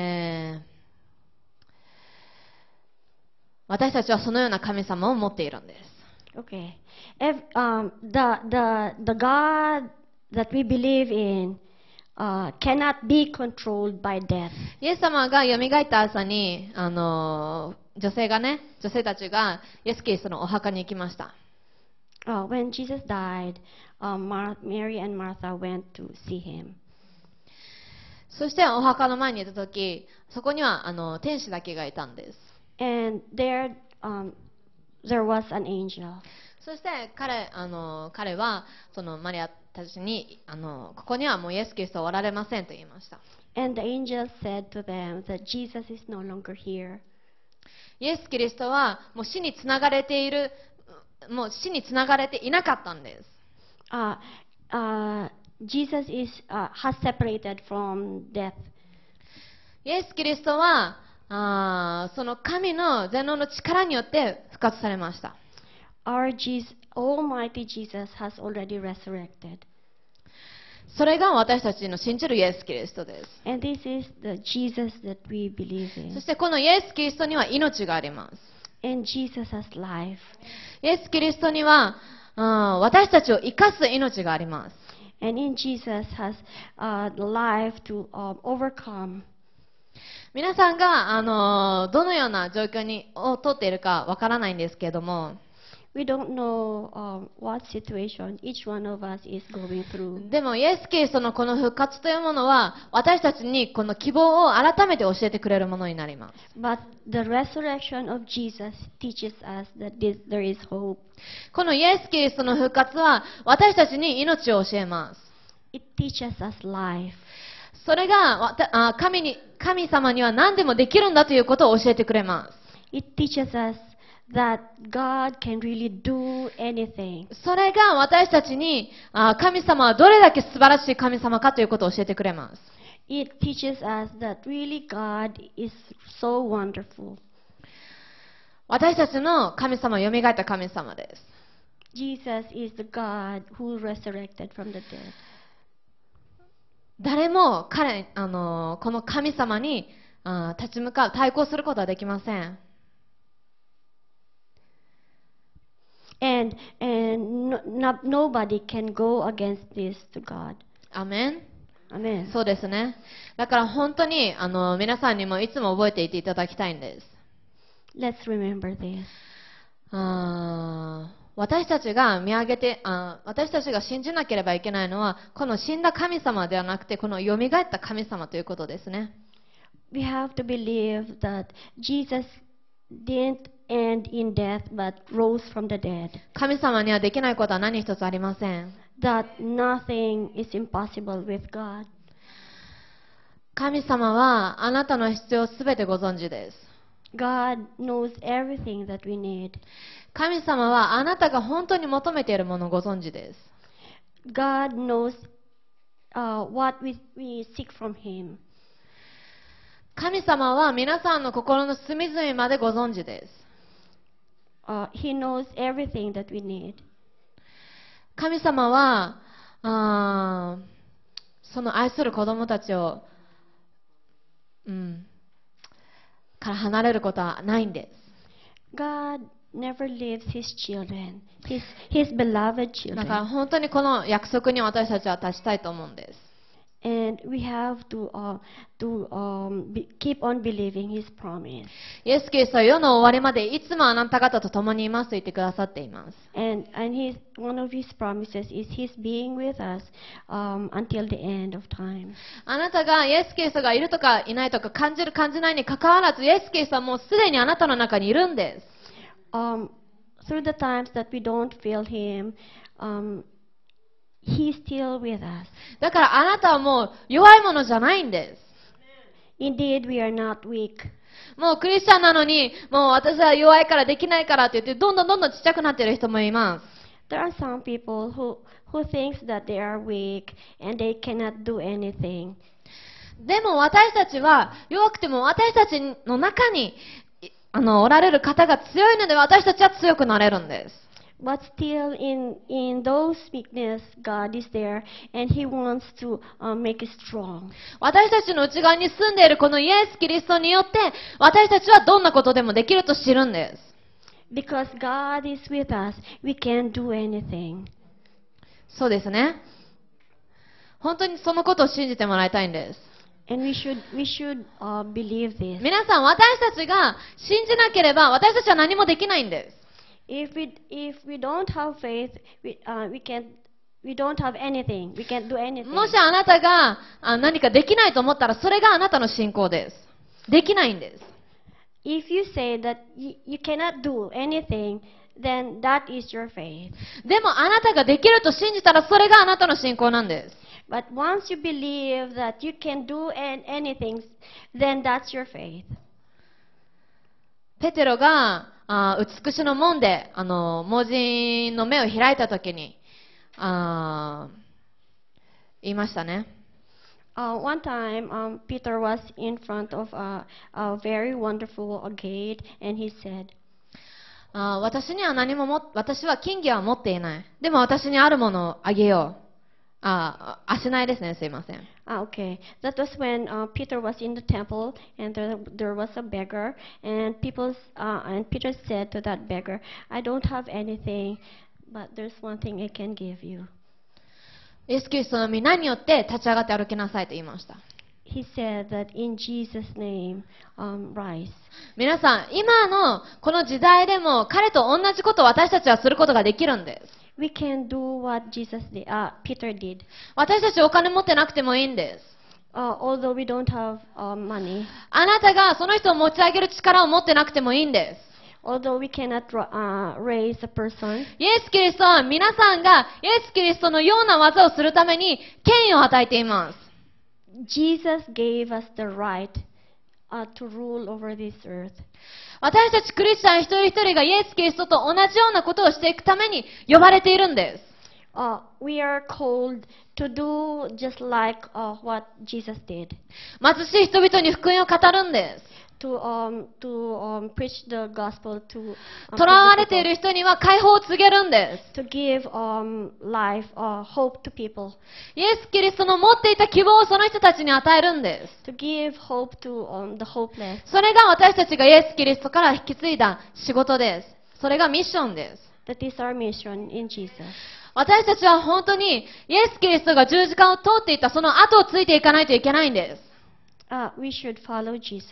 私たちはそのような神様を持っているんです。 Okay. If the God that we believe in cannot be controlled by death. イエス様が蘇った朝に女性たちがイエス・キリストのお墓に行きました。 When Jesus died, Mary and Martha went to see him. そしてお墓の前にいたとき、そこには天使だけがいたんです。 And there was an angel. そして彼はそのマリアたちにここにはもうイエス・キリストはおられませんと言いました。 And the angel said to them that Jesus is no longer here. イエス・キリストはもう死につながれていなかったんです。 Jesus has separated from death. イエス・キリストはその神の全能の力によって復活されました。 Our Almighty Jesus has already resurrected. それが私たちの信じるイエス・キリストです。 And this is the Jesus that we believe そ in. してこのイエス・キリストには命があります。 And Jesus has life. イエス・キリストには私たちを生かす命があります。 And in Jesus has life to overcome. 皆さんがどのような状況を通っているかわからないんですけれども、 We don't know what situation each one of us is going through. でもイエス・キリストのこの復活というものは私たちにこの希望を改めて教えてくれるものになります。 But the resurrection of Jesus teaches us that there is hope. このイエス・キリストの復活は私たちに命を教えます。 It teaches us life. それが神様には何でもできるんだということを教えてくれます。 It teaches us that God can really do anything. それが私たちに神様はどれだけ素晴らしい神様かということを教えてくれます。 It teaches us that really God is so wonderful. 私たちの神様は蘇った神様です。 Jesus is the God who resurrected from the dead. 誰もこの神様に立ち向かう、対抗することはできません。 And nobody can go against this to God. アメン。 Amen. そうですね。だから本当に皆さんにもいつも覚えていていただきたいんです。 Let's remember this. 私たちが見上げて私たちが信じなければいけないのはこの死んだ神様ではなくてこの蘇った神様ということですね。 We have to believe that Jesus didn't end in death but rose from the dead. 神様にはできないことは何一つありません。 That nothing is impossible with God. 神様はあなたの必要をすべてご存知です。 God knows everything that we need. 神様はあなたが本当に求めているものをご存知です。 God knows what we seek from Him. 神様は皆さんの心の隅々までご存知です。 He knows everything that we need. 神様はその愛する子供たちを、から離れることはないんです。 God never leaves His children, His beloved だから children. 本当にこの約束に私たちは立ちたいと思うんです。 And we have to keep on believing His promise. イエス・キリストは世の終わりまでいつもあなた方と共にいますと言ってくださっています。 And one of His promises is His being with us until the end of time. あなたがイエス・キリストがいるとかいないとか感じる感じないにかかわらずイエス・キリストはもうすでにあなたの中にいるんです。 Through the times that we don't feel Him, He's still with us. だからあなたはもう弱いものじゃないんです。 Indeed, we are not weak. もうクリスチャンなのにもう私は弱いからできないからって言ってどんどんちっちゃくなっている人もいます。 There are some people who thinks that they are weak and they cannot do anything. でも私たちは弱くても私たちの中におられる方が強いので私たちは強くなれるんです。 But still in those weakness, God is there and He wants to make us strong. 私たちの内側に住んでいるこのイエス・キリストによって私たちはどんなことでもできると知るんです。 Because God is with us, we can do anything. そうですね。本当にそのことを信じてもらいたいんです。 And we should believe this. 皆さん、私たちが信じなければ私たちは何もできないんです。 If we don't have faith, we don't have anything. We can't do anything. もしあなたが何かできないと思ったらそれがあなたの信仰です。できないんです。 If you say that you cannot do anything, then that is your faith. でもあなたができると信じたらそれがあなたの信仰なんです。 But once you believe that you can do anything, then that's your faith. ペテロが美しの門で盲人の目を開いたときに言いましたね。 One time, Peter was in front of a very wonderful gate, and he said, 私は金銀は持っていない。でも私にあるものをあげよう。足ないですね。すいません。 Okay. That was when Peter was in the temple, and there was a beggar, and Peter said to that beggar, "I don't have anything, but there's one thing I can give you." イエス・キリストの皆によって立ち上がって歩きなさいと言いました。 he said that in Jesus' name, rise. 皆さん、今のこの時代でも彼と同じことを私たちはすることができるんです。 We can do what Peter did. 私たちお金持ってなくてもいいんです。 Although we don't have money, あなたがその人を持ち上げる力を持ってなくてもいいんです。 although we cannot raise a person, イエス・キリストは皆さんがイエス・キリストのような技をするために権威を与えています。 Jesus gave us the right to rule over this earth. 私たちクリスチャン一人一人がイエス・キリストと同じようなことをしていくために呼ばれているんです。 We are called to do just like what Jesus did. 貧しい人々に福音を語るんです。 To preach the gospel to 囚われている人には解放を告げるんです。 to give life hope to people. イエス・キリストの持っていた希望をその人たちに与えるんです。 To give hope to the hopeless. それが私たちがイエス・キリストから引き継いだ仕事です。それがミッションです。 That is our mission in Jesus. 私たちは本当にイエス・キリストが十字架を通っていたその後をついていかないといけないんです。 We should follow Jesus.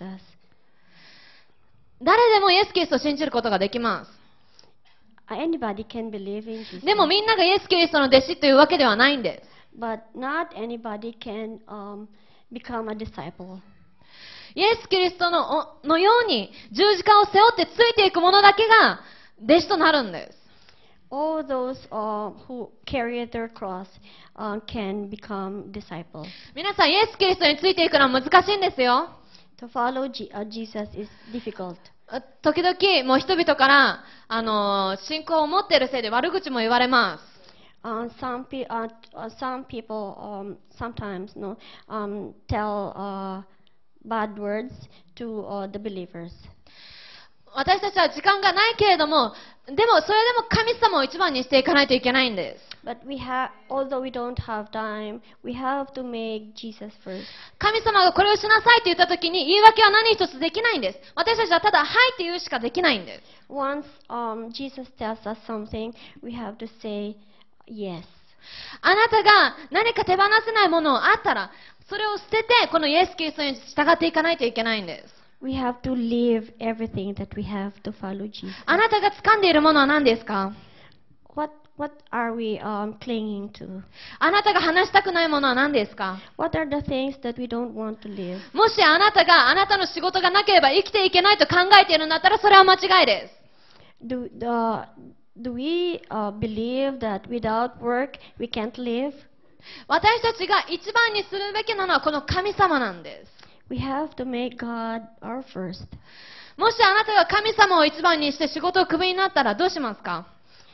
誰でもイエス・キリストを信じることができます。 Anybody can believe in Jesus. でもみんながイエス・キリストの弟子というわけではないんです。 But not anybody can become a disciple. イエス・キリストのように十字架を背負ってついていく者だけが弟子となるんです。 All those who carry their cross can become disciples. 皆さん、イエス・キリストについていくのは難しいんですよ。 To follow Jesus is difficult. 時々、もう人々から、信仰を持っているせいで悪口も言われます。 Some people sometimes tell bad words to the believers. 私たちは時間がないけれども、でもそれでも神様を一番にしていかないといけないんです。 But although we don't have time, we have to make Jesus first. 神様がこれをしなさいと言ったときに言い訳は何一つできないんです。私たちはただはいって言うしかできないんです。 Once Jesus tells us something, we have to say yes. あなたが何か手放せないものがあったら、それを捨ててこのイエス・キリストに従っていかないといけないんです。 We have to leave everything that we have to follow Jesus. あなたが掴んでいるものは何ですか？ What are we clinging to? あなたが話したくないものは何ですか？ What are the things that we don't want to live? もしあなたがあなたの仕事がなければ生きていけないと考えているんだったらそれは間違いです。 Do we believe that without work we can't live? 私たちが一番にするべきなのはこの神様なんです。 We have to make God our first. もしあなたが神様を一番にして仕事をクビになったらどうしますか？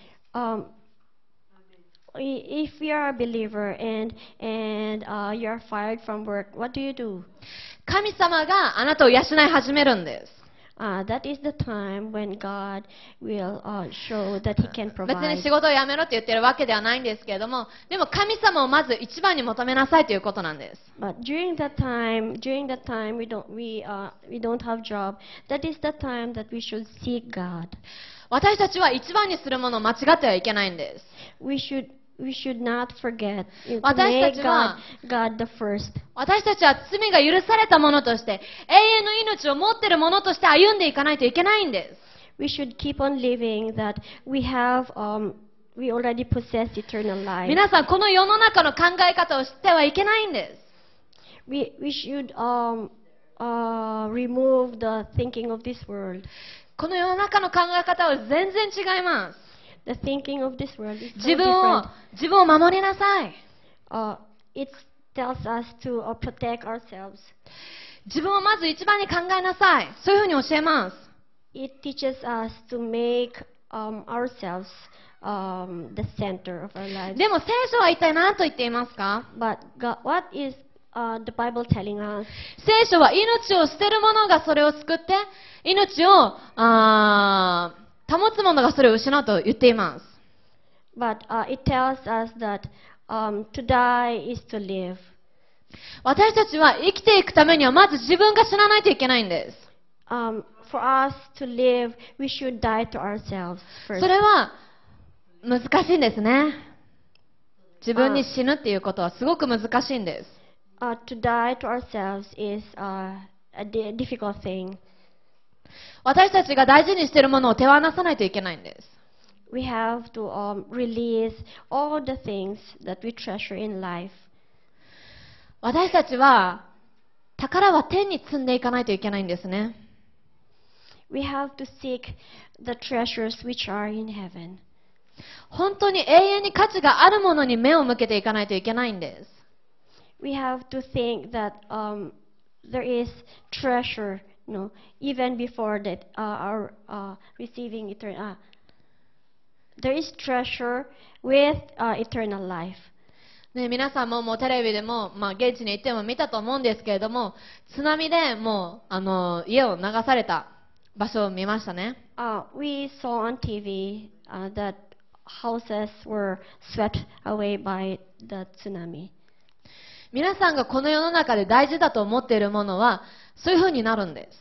If you are a believer and you are fired from work, what do you do? 神様があなたを養い始めるんです。 That is the time when God will show that He can 別に provide. 仕事を辞めろって言ってるわけではないんですけれども、でも神様をまず一番に求めなさいということなんです。 But during that time we don't have job. That is the time that we should seek God. 私たちは一番にするものを間違ってはいけないんです。 We should not forget to 私た make ちは God the first. 私たちは罪が許されたものとして、永遠の命を持っているものとして歩んでいかないといけないんです。 We should keep on living that we already possess eternal life. 皆さん、この世の中の考え方を知ってはいけないんです。 We should remove the thinking of this world. この世の中の考え方は全然違います。 The thinking of this world is 自 so 分 different. を守りなさい。 It tells us to protect ourselves. 自分をまず一番に考えなさい。そういうふうに教えます。 It teaches us to make ourselves the center of our lives. でも聖書は一体何と言っていますか？ But what is the Bible telling us? 聖書は命を捨てる者がそれを救って、命を保つ者がそれを失うと言っています。 But it tells us that to die is to live. 私たちは生きていくためにはまず自分が死なないといけないんです。 For us to live, we should die to ourselves そ first. れは難しいんですね。自分に死ぬっていうことはすごく難しいんです。 To die to ourselves is a difficult thing. 私たちが大事にしているものを手放さないといけないんです。 We have to release all the things that we treasure in life. 私たちは宝は天に積んでいかないといけないんですね。 We have to seek the treasures which are in heaven. 本当に永遠に価値があるものに目を向けていかないといけないんです。 We have to think that there is treasure, even before that our receiving eternal. There is treasure with eternal life. ね、皆さんもテレビでも、現地に行っても見たと思うんですけれども、津波でもう家を流された場所を見ましたね。 We saw on TV that houses were swept away by the tsunami. 皆さんがこの世の中で大事だと思っているものはそういうふうになるんです。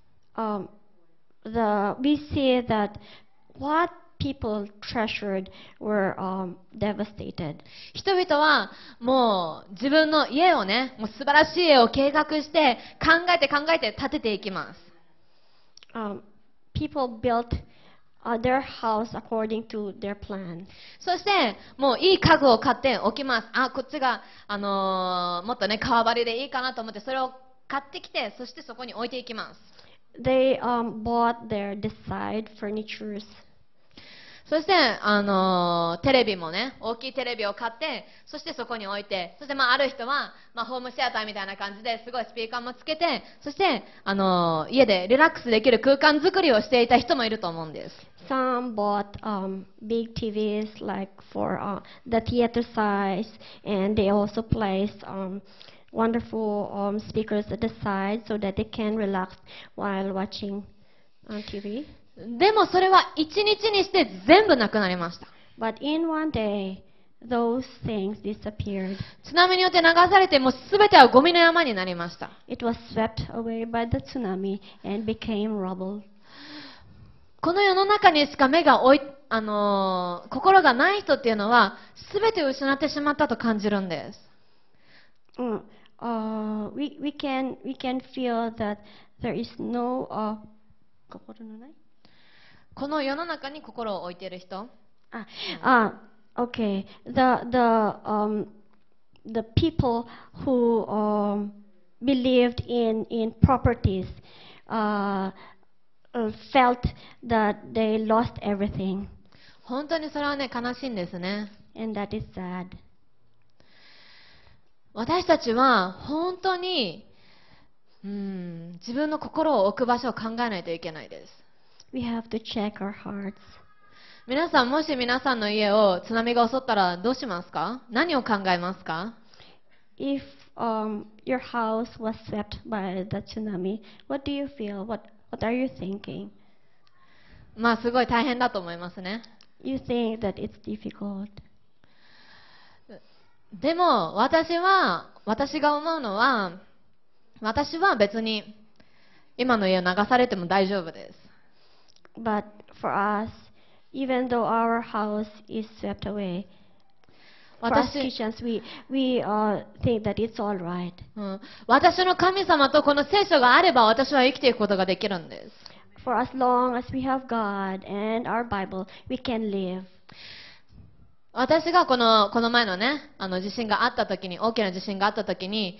We see that what people treasured were devastated. 人々はもう自分の家をね、もう素晴らしい家を計画して考えて建てていきます。 People built their house according to their plans. そしてもういい家具を買っておきます。こっちが、もっとね革張りでいいかなと思ってそれを買ってきて、そしてそこに置いていきます。 They bought their desired furnitures. そしてテレビもね、大きいテレビを買って、そしてそこに置いて、そしてある人はホームシアターみたいな感じですごいスピーカーもつけて、そして家でリラックスできる空間作りをしていた人もいると思うんです。 Some bought big TVs like for the theater size, and they also placed wonderful speakers at the side so that they can relax while watching TV. でもそれは一日にして全部なくなりました。 But in one day, those things disappeared. 津波によって流されて、もうすべてはゴミの山になりました。 It was swept away by the tsunami and became rubble. この世の中にしか心がない人っていうのは、すべてを失ってしまったと感じるんです。 We can feel that there is no 心のない。 この世の中に心を置いている人。 Okay. The people who believed in properties felt that they lost everything. 本当にそれはね、悲しいんですね。 And that is sad. 私たちは本当に自分の心を置く場所を考えないといけないです。 We have to check our hearts. 皆さん、もし皆さんの家を津波が襲ったらどうしますか？何を考えますか？ If your house was swept by the tsunami, what do you feel? What are you thinking? すごい大変だと思いますね。 You think that it's difficult. でも私が思うのは、私は別に今の家を流されても大丈夫です。 But for us, even though our house is swept away, for us Christians, we think that it's all right. 私の神様とこの聖書があれば私は生きていくことができるんです。 For as long as we have God and our Bible, we can live. 私がこの前のね、地震があった時に、大きな地震があった時に、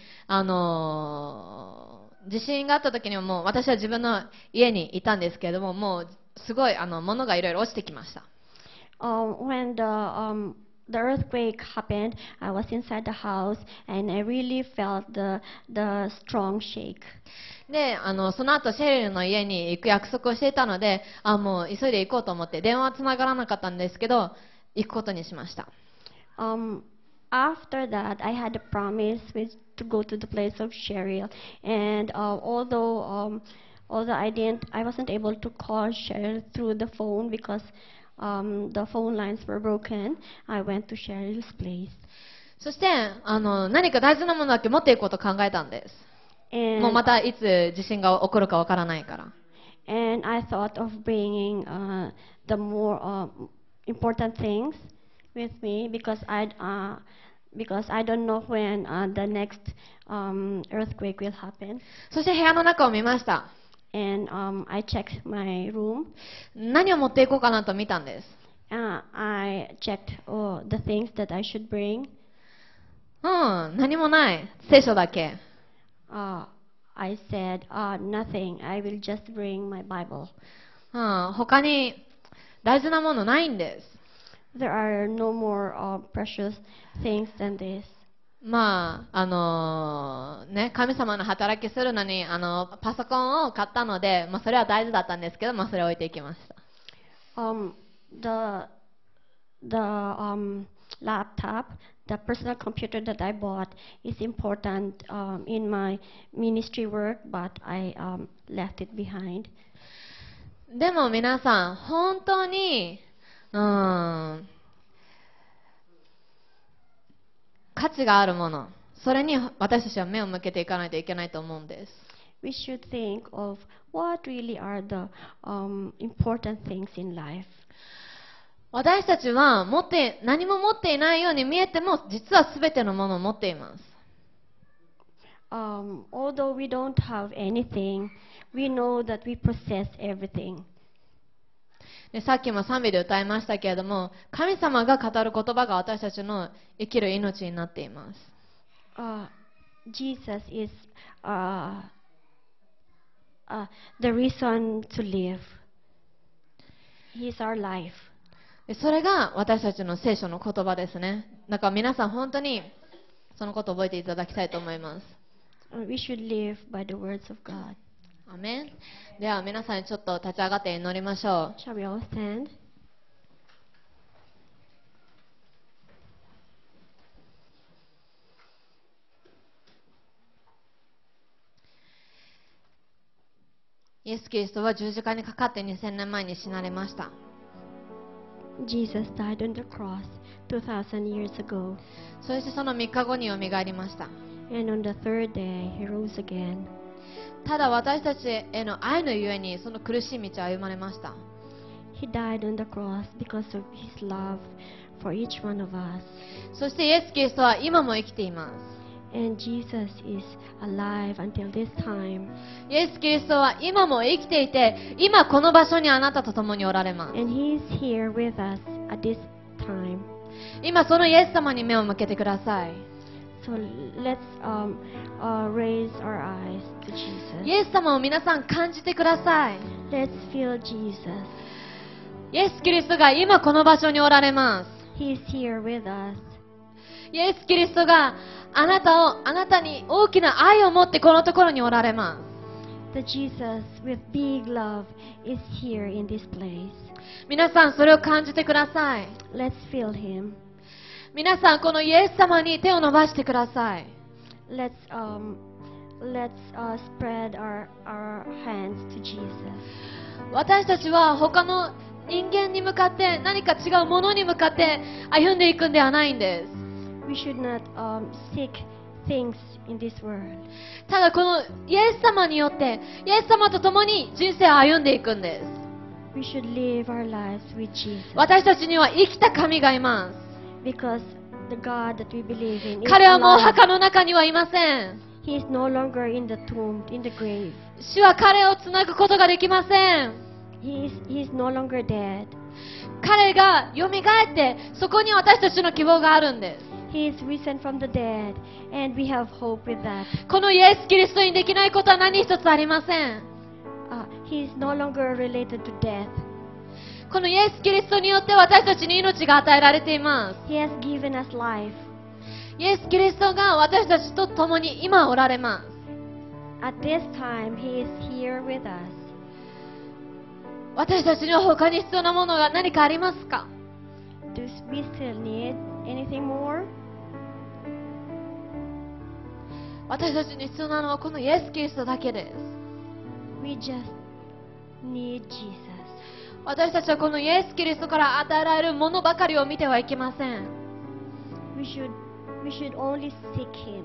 地震があった時にはもう私は自分の家にいたんですけれども、もうすごい物がいろいろ落ちてきました。 When the earthquake happened, I was inside the house and I really felt the strong shake. で、その後シェリルの家に行く約束をしていたので、もう急いで行こうと思って電話は繋がらなかったんですけど、行くことにしました。 After that, I had a promise to go to the place of Cheryl, and although I wasn't able to call Cheryl through the phone because the phone lines were broken, I went to Cheryl's place. そして何か大事なものだけ持っていこうと考えたんです。もうまたいつ地震が起こるかわからないから。 And I thought of bringing the more important things with me because because I don't know when the next earthquake will happen. そして部屋の中を見ました。 And I checked my room. 何を持っていこうかなと見たんです。 I checked the things that I should bring. 何もない。聖書だけ。 I said, nothing. I will just bring my Bible. 他に大事なものないんです。 There are no more precious things than this. 神様の働きするのにパソコンを買ったので、それは大事だったんですけど、それを置いていきました。 The laptop, the personal computer that I bought is important in my ministry work, but I left it behind. でも皆さん、本当に価値があるもの、それに私たちは目を向けていかないといけないと思うんです。 We should think of what really are the important things in life. 私たちは何も持っていないように見えても、実はすべてのものを持っています。 Although we don't have anything, we know that we possess everything. でさっきも賛美で歌いましたけれども、神様が語る言葉が私たちの生きる命になっています。 Jesus is the reason to live. He is our life. それが私たちの聖書の言葉ですね。だから皆さん本当にそのことを覚えていただきたいと思います。 We should live by the words of God. アメン。では皆さんちょっと立ち上がって祈りましょう。 Shall we all stand? イエス・キリストは十字架にかかって2000年前に死なれました。 Jesus died on the cross 2,000 years ago. そしてその3日後によみがえりました。 And on the third day, he rose again. ただ私たちへの愛のゆえにその苦しい道を歩まれました。 He died on the cross because of his love for each one of us. そしてイエス・キリストは今も生きています。 And Jesus is alive until this time. イエス・キリストは今も生きていて、今この場所にあなたと共におられます。 And he is here with us at this time. 今そのイエス様に目を向けてください。 So let's raise our eyes to Jesus. イエス様を皆さん感じてください。 Let's feel Jesus. イエス・キリストが今この場所におられます。 He is here with us. イエス・キリストがあなたに大きな愛を持ってこのところにおられます。 The Jesus with big love is here in this place. 皆さんそれを感じてください。 Let's feel him. 皆さんこのイエス様に手を伸ばしてください。 Let's spread our hands to Jesus. 私たちは他の人間に向かって何か違うものに向かって歩んでいくんではないんです。 We should not seek things in this world. ただこのイエス様によってイエス様と共に人生を歩んでいくんです。 We should live our lives with Jesus. 私たちには生きた神がいます。 Because the God that we believe in is 彼はもう alive. 墓の中にはいません。 He is no longer in the tomb, in the grave. 主は彼をつなぐことができません。 He is no longer dead. 彼が蘇ってそこに私たちの希望があるんです。 He is risen from the dead, and we have hope with that. このイエス・キリストにできないことは何一つありません。 He is no longer related to death. このイエス・キリストによって私たちに命が与えられています。 He has given us life. イエス・キリストが私たちと共に今おられます。 At this time, He is here with us. 私たちには他に必要なものが何かありますか？ Do we still need anything more? 私たちに必要なのはこのイエス・キリストだけです。 We just need Jesus. 私たちはこのイエス・キリストから与えられるものばかりを見てはいけません。 We should only seek Him.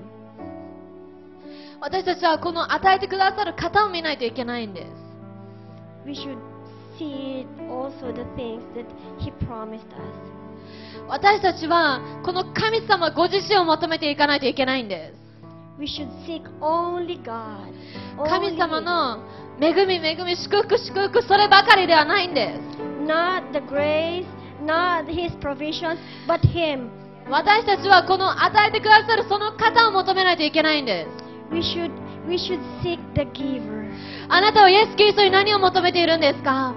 私たちはこの与えてくださる方を見ないといけないんです。 We should see also the things that He promised us. 私たちはこの神様ご自身を求めていかないといけないんです。 We should seek only God. 神 Only 様 Him. の恵み恵み祝福祝福そればかりではないんです。 Not the grace, not His provision, but Him. 私たちはこの与えてくださるその方を求めないといけないんです。 We should seek the giver. あなたはイエス・キリストに何を求めているんですか？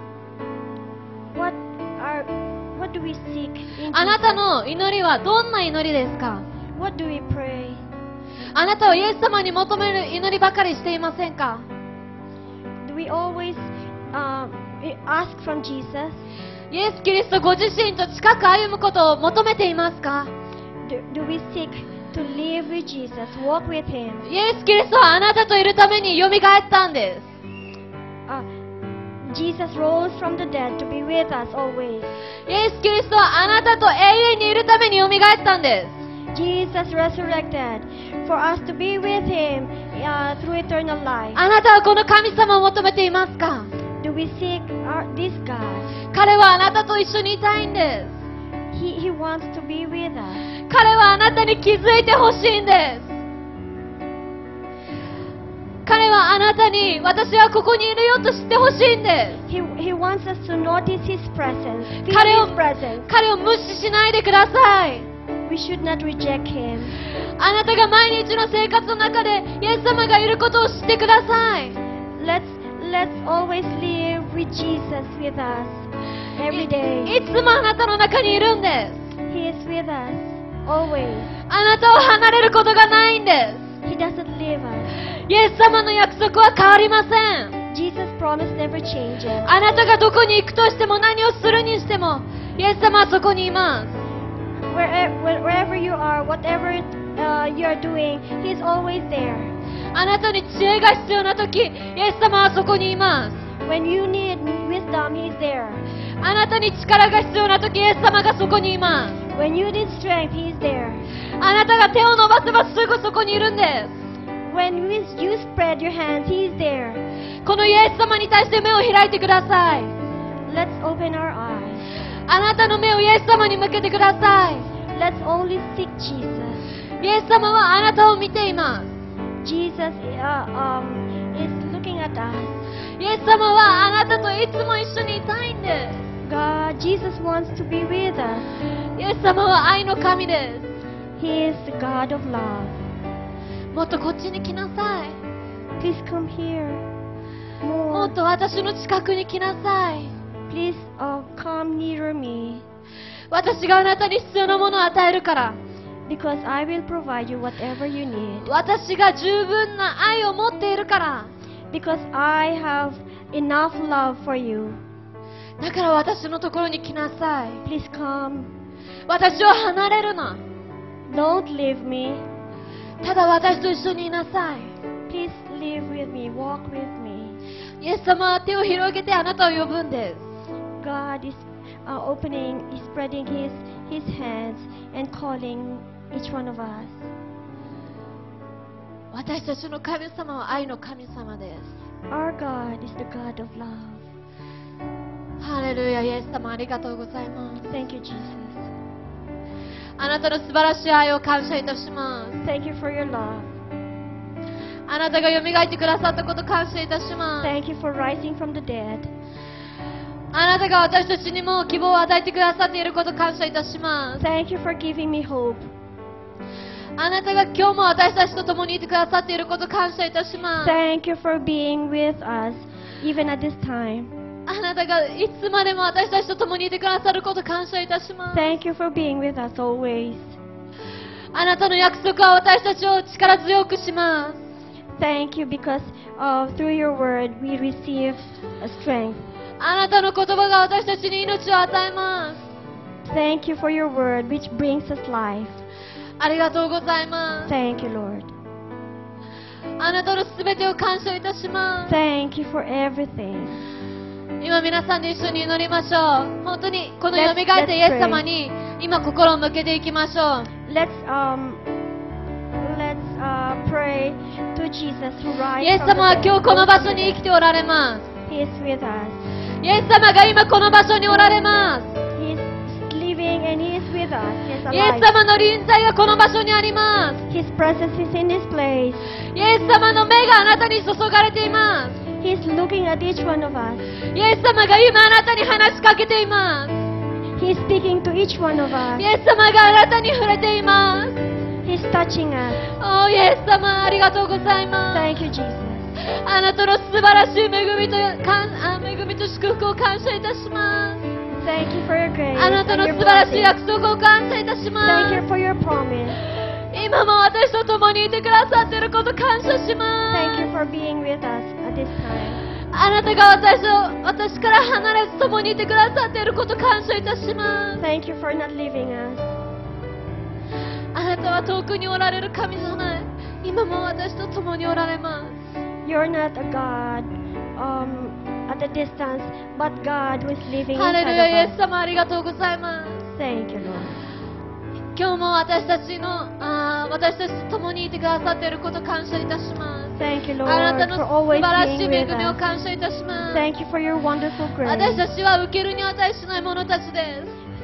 What do we seek in あなた Jesus? の祈りはどんな祈りですか？ What do we pray? あなたはイエス様に求める祈りばかりしていませんか？ Do we always ask from Jesus? イエス・キリストご自身と近く歩むことを求めていますか？ Do we seek to live with Jesus, walk with Him? イエス・キリストはあなたといるためによみがえったんです。 Jesus rose from the dead to be with us always. イエス・キリストはあなたと永遠にいるためによみがえったんです。 Jesus resurrected for us to be with Him through eternal life. あなたはこの神様を求めていますか？ Do we seek this God? 彼はあなたと一緒にいたいんです。 He wants to be with us. 彼はあなたに気づいてほしいんです。彼はあなたに私はここにいるよと知ってほしいんです。 He wants us to notice His presence, feel 彼を His presence. 彼を無視しないでください。 We should not reject Him. あなたが毎日の生活の中でイエス様がいることを知ってください。 Let's always live with Jesus with us every day. いつもあなたの中にいるんです。 He is with us always. あなたを離れることがないんです。 He doesn't leave us. イエス様の約束は変わりません。 Jesus' promise never changes. あなたがどこに行くとしても何をするにしてもイエス様はそこにいます。 Wherever you are, whatever you are doing, He's always there. あなたに知恵が必要な時イエス様はそこにいます。 When you need wisdom, He's there. あなたに力が必要な時イエス様がそこにいます。 When you need strength, He's there. あなたが手を伸ばせばすぐそこにいるんです。 When you spread your hands, He's there. このイエス様に対して目を開いてください。 Let's open our eyes. あなたの目をイエス様に向けてください。 Let's only seek Jesus. イエス様はあなたを見ています。 Jesus is looking at us. イエス様はあなたといつも一緒にいたいんで Jesus wants to be with us. す。イエス様は愛の神で He is the God of love. す。もっとこっちに来なさい。 Please come here も more. っと私の近くに来なさい。 Please come nearer me, 私があなたに必要なものを与えるから。 because I will provide you whatever you need. 私が十分な愛を持っているから。 Because I have enough love for you. だから私のところに来なさい。 Please come. 私を離れるな。 Don't leave me. ただ私と一緒にいなさい。 Please live with me, walk with me. イエス様は手を広げてあなたを呼ぶんです。 God is spreading His hands and calling each one of us. 私たちの神様は愛の神様です。 Our God is the God of love. ハレルヤ、イエス様ありがとうございます。 Thank you, Jesus. あなたの素晴らしい愛を感謝いたします。 Thank you for your love. あなたが蘇ってくださったこと感謝いたします。 Thank you for rising from the dead. あなたが私たちにも希望を与えてくださっていること感謝いたします。 Thank you for giving me hope. あなたが今日も私たちと共にいてくださっていること感謝いたします。 Thank you for being with us even at this time. あなたがいつまでも私たちと共にいてくださること感謝いたします。 Thank you for being with us always. あなたの約束は私たちを力強くします。 Thank you because through your word we receive strength. あなたの言葉が私たちに命を与えます。 Thank you for your word which brings us life. ありがとうございます。 Thank you, Lord. あなたのすべてを感謝いたします。 Thank you for everything. 今皆さんで一緒に祈りましょう。本当にこの蘇ったイエス様に今心を向けていきましょう。 Let's pray to Jesus who イ rises エス from 様は the 今日この場所 dead. に生きておられま He is with us. す。イエス様が今この場所におられます。 He is living and He is with us. He is イエス alive. 様の臨在がこの場所にあります。 His presence is in this place. イエス様の目があなたに注がれています。 He is looking at each one of us. イエス様が今あなたに話しかけています。 He is speaking to each one of us. イエス様があなたに触れています。 He is touching us. おー、イエス様ありがとうございます。 Thank you, Jesus. あなたの素晴らしい恵みと祝福を感謝いたします。 Thank you for your grace あなた and の your 素晴らしい blessing. 約束を感謝いたしま Thank you す。 for your promise. 今も私と共にいてくださっていること感謝し Thank ま you す。 for being with us at this time. あなたが私から離れず共にいてくださっていること感謝いたします。 Thank you for not leaving us. あなたは遠くにおられる神様へ、今も私と共におられます。 You're not a God at a distance, but God who is living ハレルヤ、イエ inside ス of us. 様ありがとうございます。 Thank you, Lord. 今日も私たちと共にいてくださっていること感謝いたします。 Thank you, あなた Lord, の for 素 always 晴らしい being 恵 with みを us. 感謝いたします。 Thank you for your wonderful 私 grace. たちは受けるに値しない者たちです。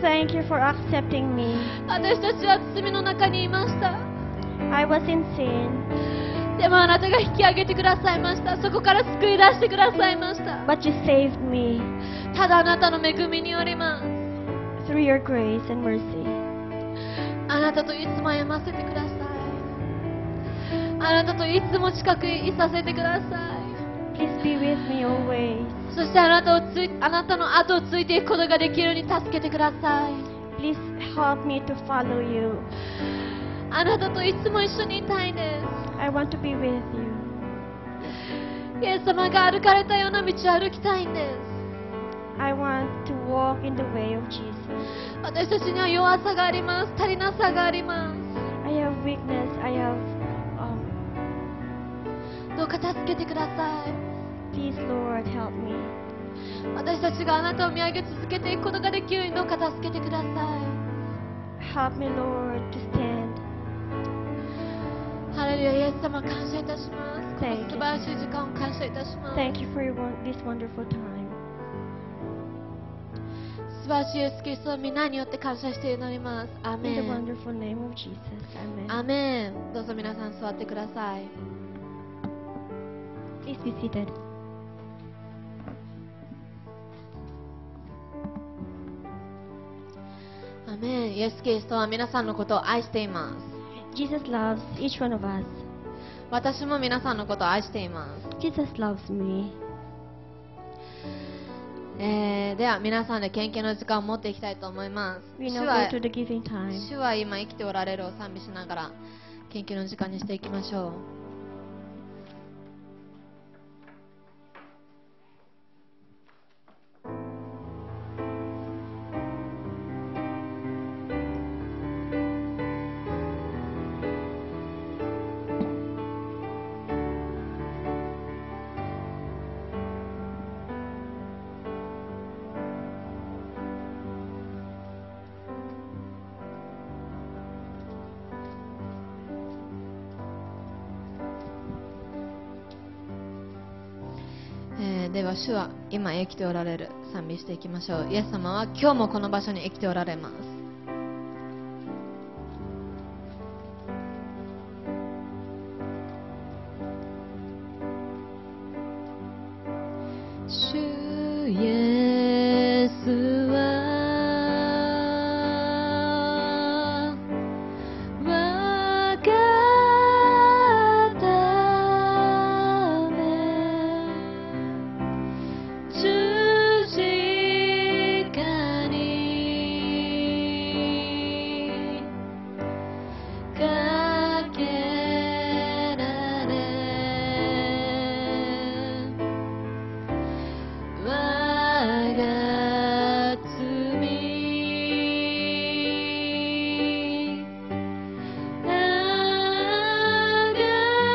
Thank you for accepting me. 私たちは罪の中にいました。 I was in sin, でもあなたが引き上げてくださいました。そこから救い出してくださいました。 but you saved me ただあなたの恵みによります。 through your grace and mercy. あなたといつも歩ませてください。あなたといつも近くにいさせてください。 Please be with me always. そしてあなたの後をついていくことができるように助けてください。 Please help me to follow you. あなたといつも一緒にいたいで I want to be with you. す。イエス様が歩かれたような道を歩きたいんです。 I want to walk in the way of Jesus. 私たちには弱さがあります。足りなさがあります。 I have weakness. I have. どうか助けてください。 Please, Lord, help me. 私たちがあなたを見上げ続けていくことができるようにどうか助けてください。 Help me, Lord, to stand. ハレルヤ、イエス様感謝いたします。この Thank you. 素晴らしい時間を感謝いたします。 Thank you for this wonderful time. 素晴らしいイエス・キリストの皆によって感謝して祈ります。アー In メ the ン。 wonderful name of Jesus. Amen. アーメン。どうぞ皆さん座ってください。 Please be seated. アーメン。イエス・キリストは皆さんのことを愛しています。 Jesus loves each one of us. 私も皆さんのことを愛しています。 Jesus loves me. では皆さんで献金の時間を持っていきたいと思います。 We 主 now は go to the giving time. 主は今生きておられるを賛美しながら献金の時間にしていきましょう。では主は今生きておられる賛美していきましょう。イエス様は今日もこの場所に生きておられます。主イエスは我がため十字架にかけられ我が罪あが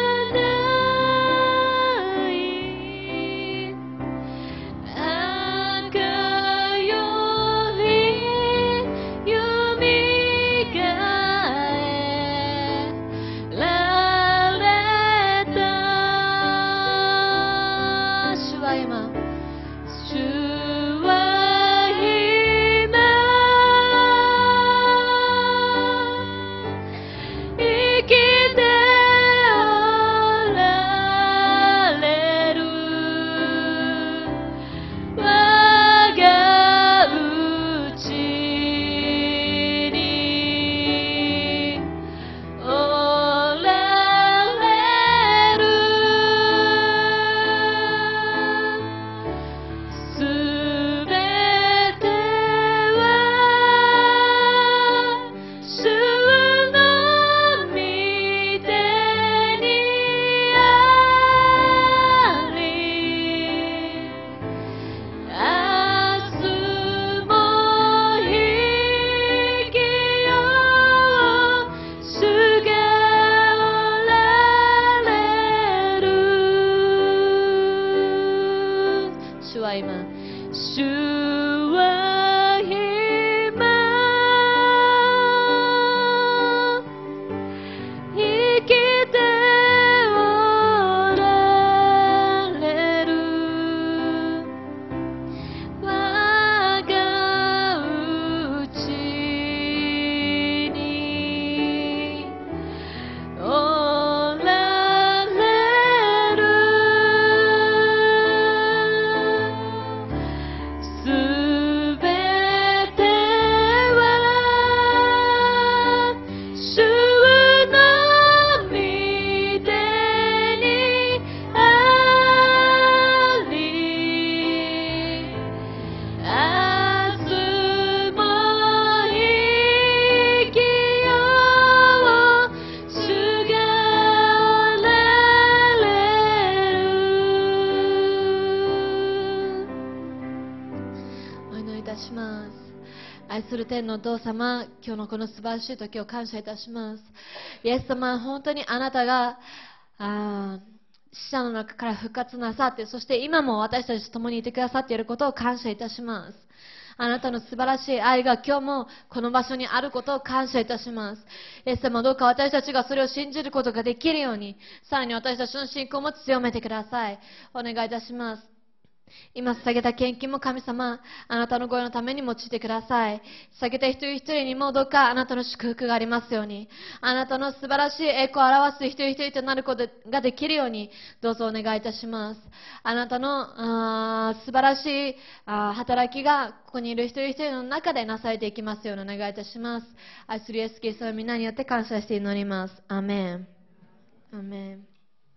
ない赤よりよみがえられた主は今主は今主は今、主は今生きておられる。我が内におられる。すべては主の御手にあり、明日も生きよう。主がおられる。お祈りいたします。愛する天のお父様、今日のこの素晴らしい時を感謝いたします。イエス様、本当にあなたが死者の中から復活なさって、そして今も私たちと共にいてくださっていることを感謝いたします。あなたの素晴らしい愛が今日もこの場所にあることを感謝いたします。イエス様、どうか私たちがそれを信じることができるように、さらに私たちの信仰も強めてください。お願いいたします。今捧げた献金も神様、あなたのご用のために用いてください。捧げた一人一人にもどうかあなたの祝福がありますように、あなたの素晴らしい栄光を表す一人一人となることができるように、どうぞお願いいたします。あなたの素晴らしい働きがここにいる一人一人の中でなされていきますようにお願いいたします。愛するイエスキリストの皆によって感謝して祈ります。アーメン。アーメン。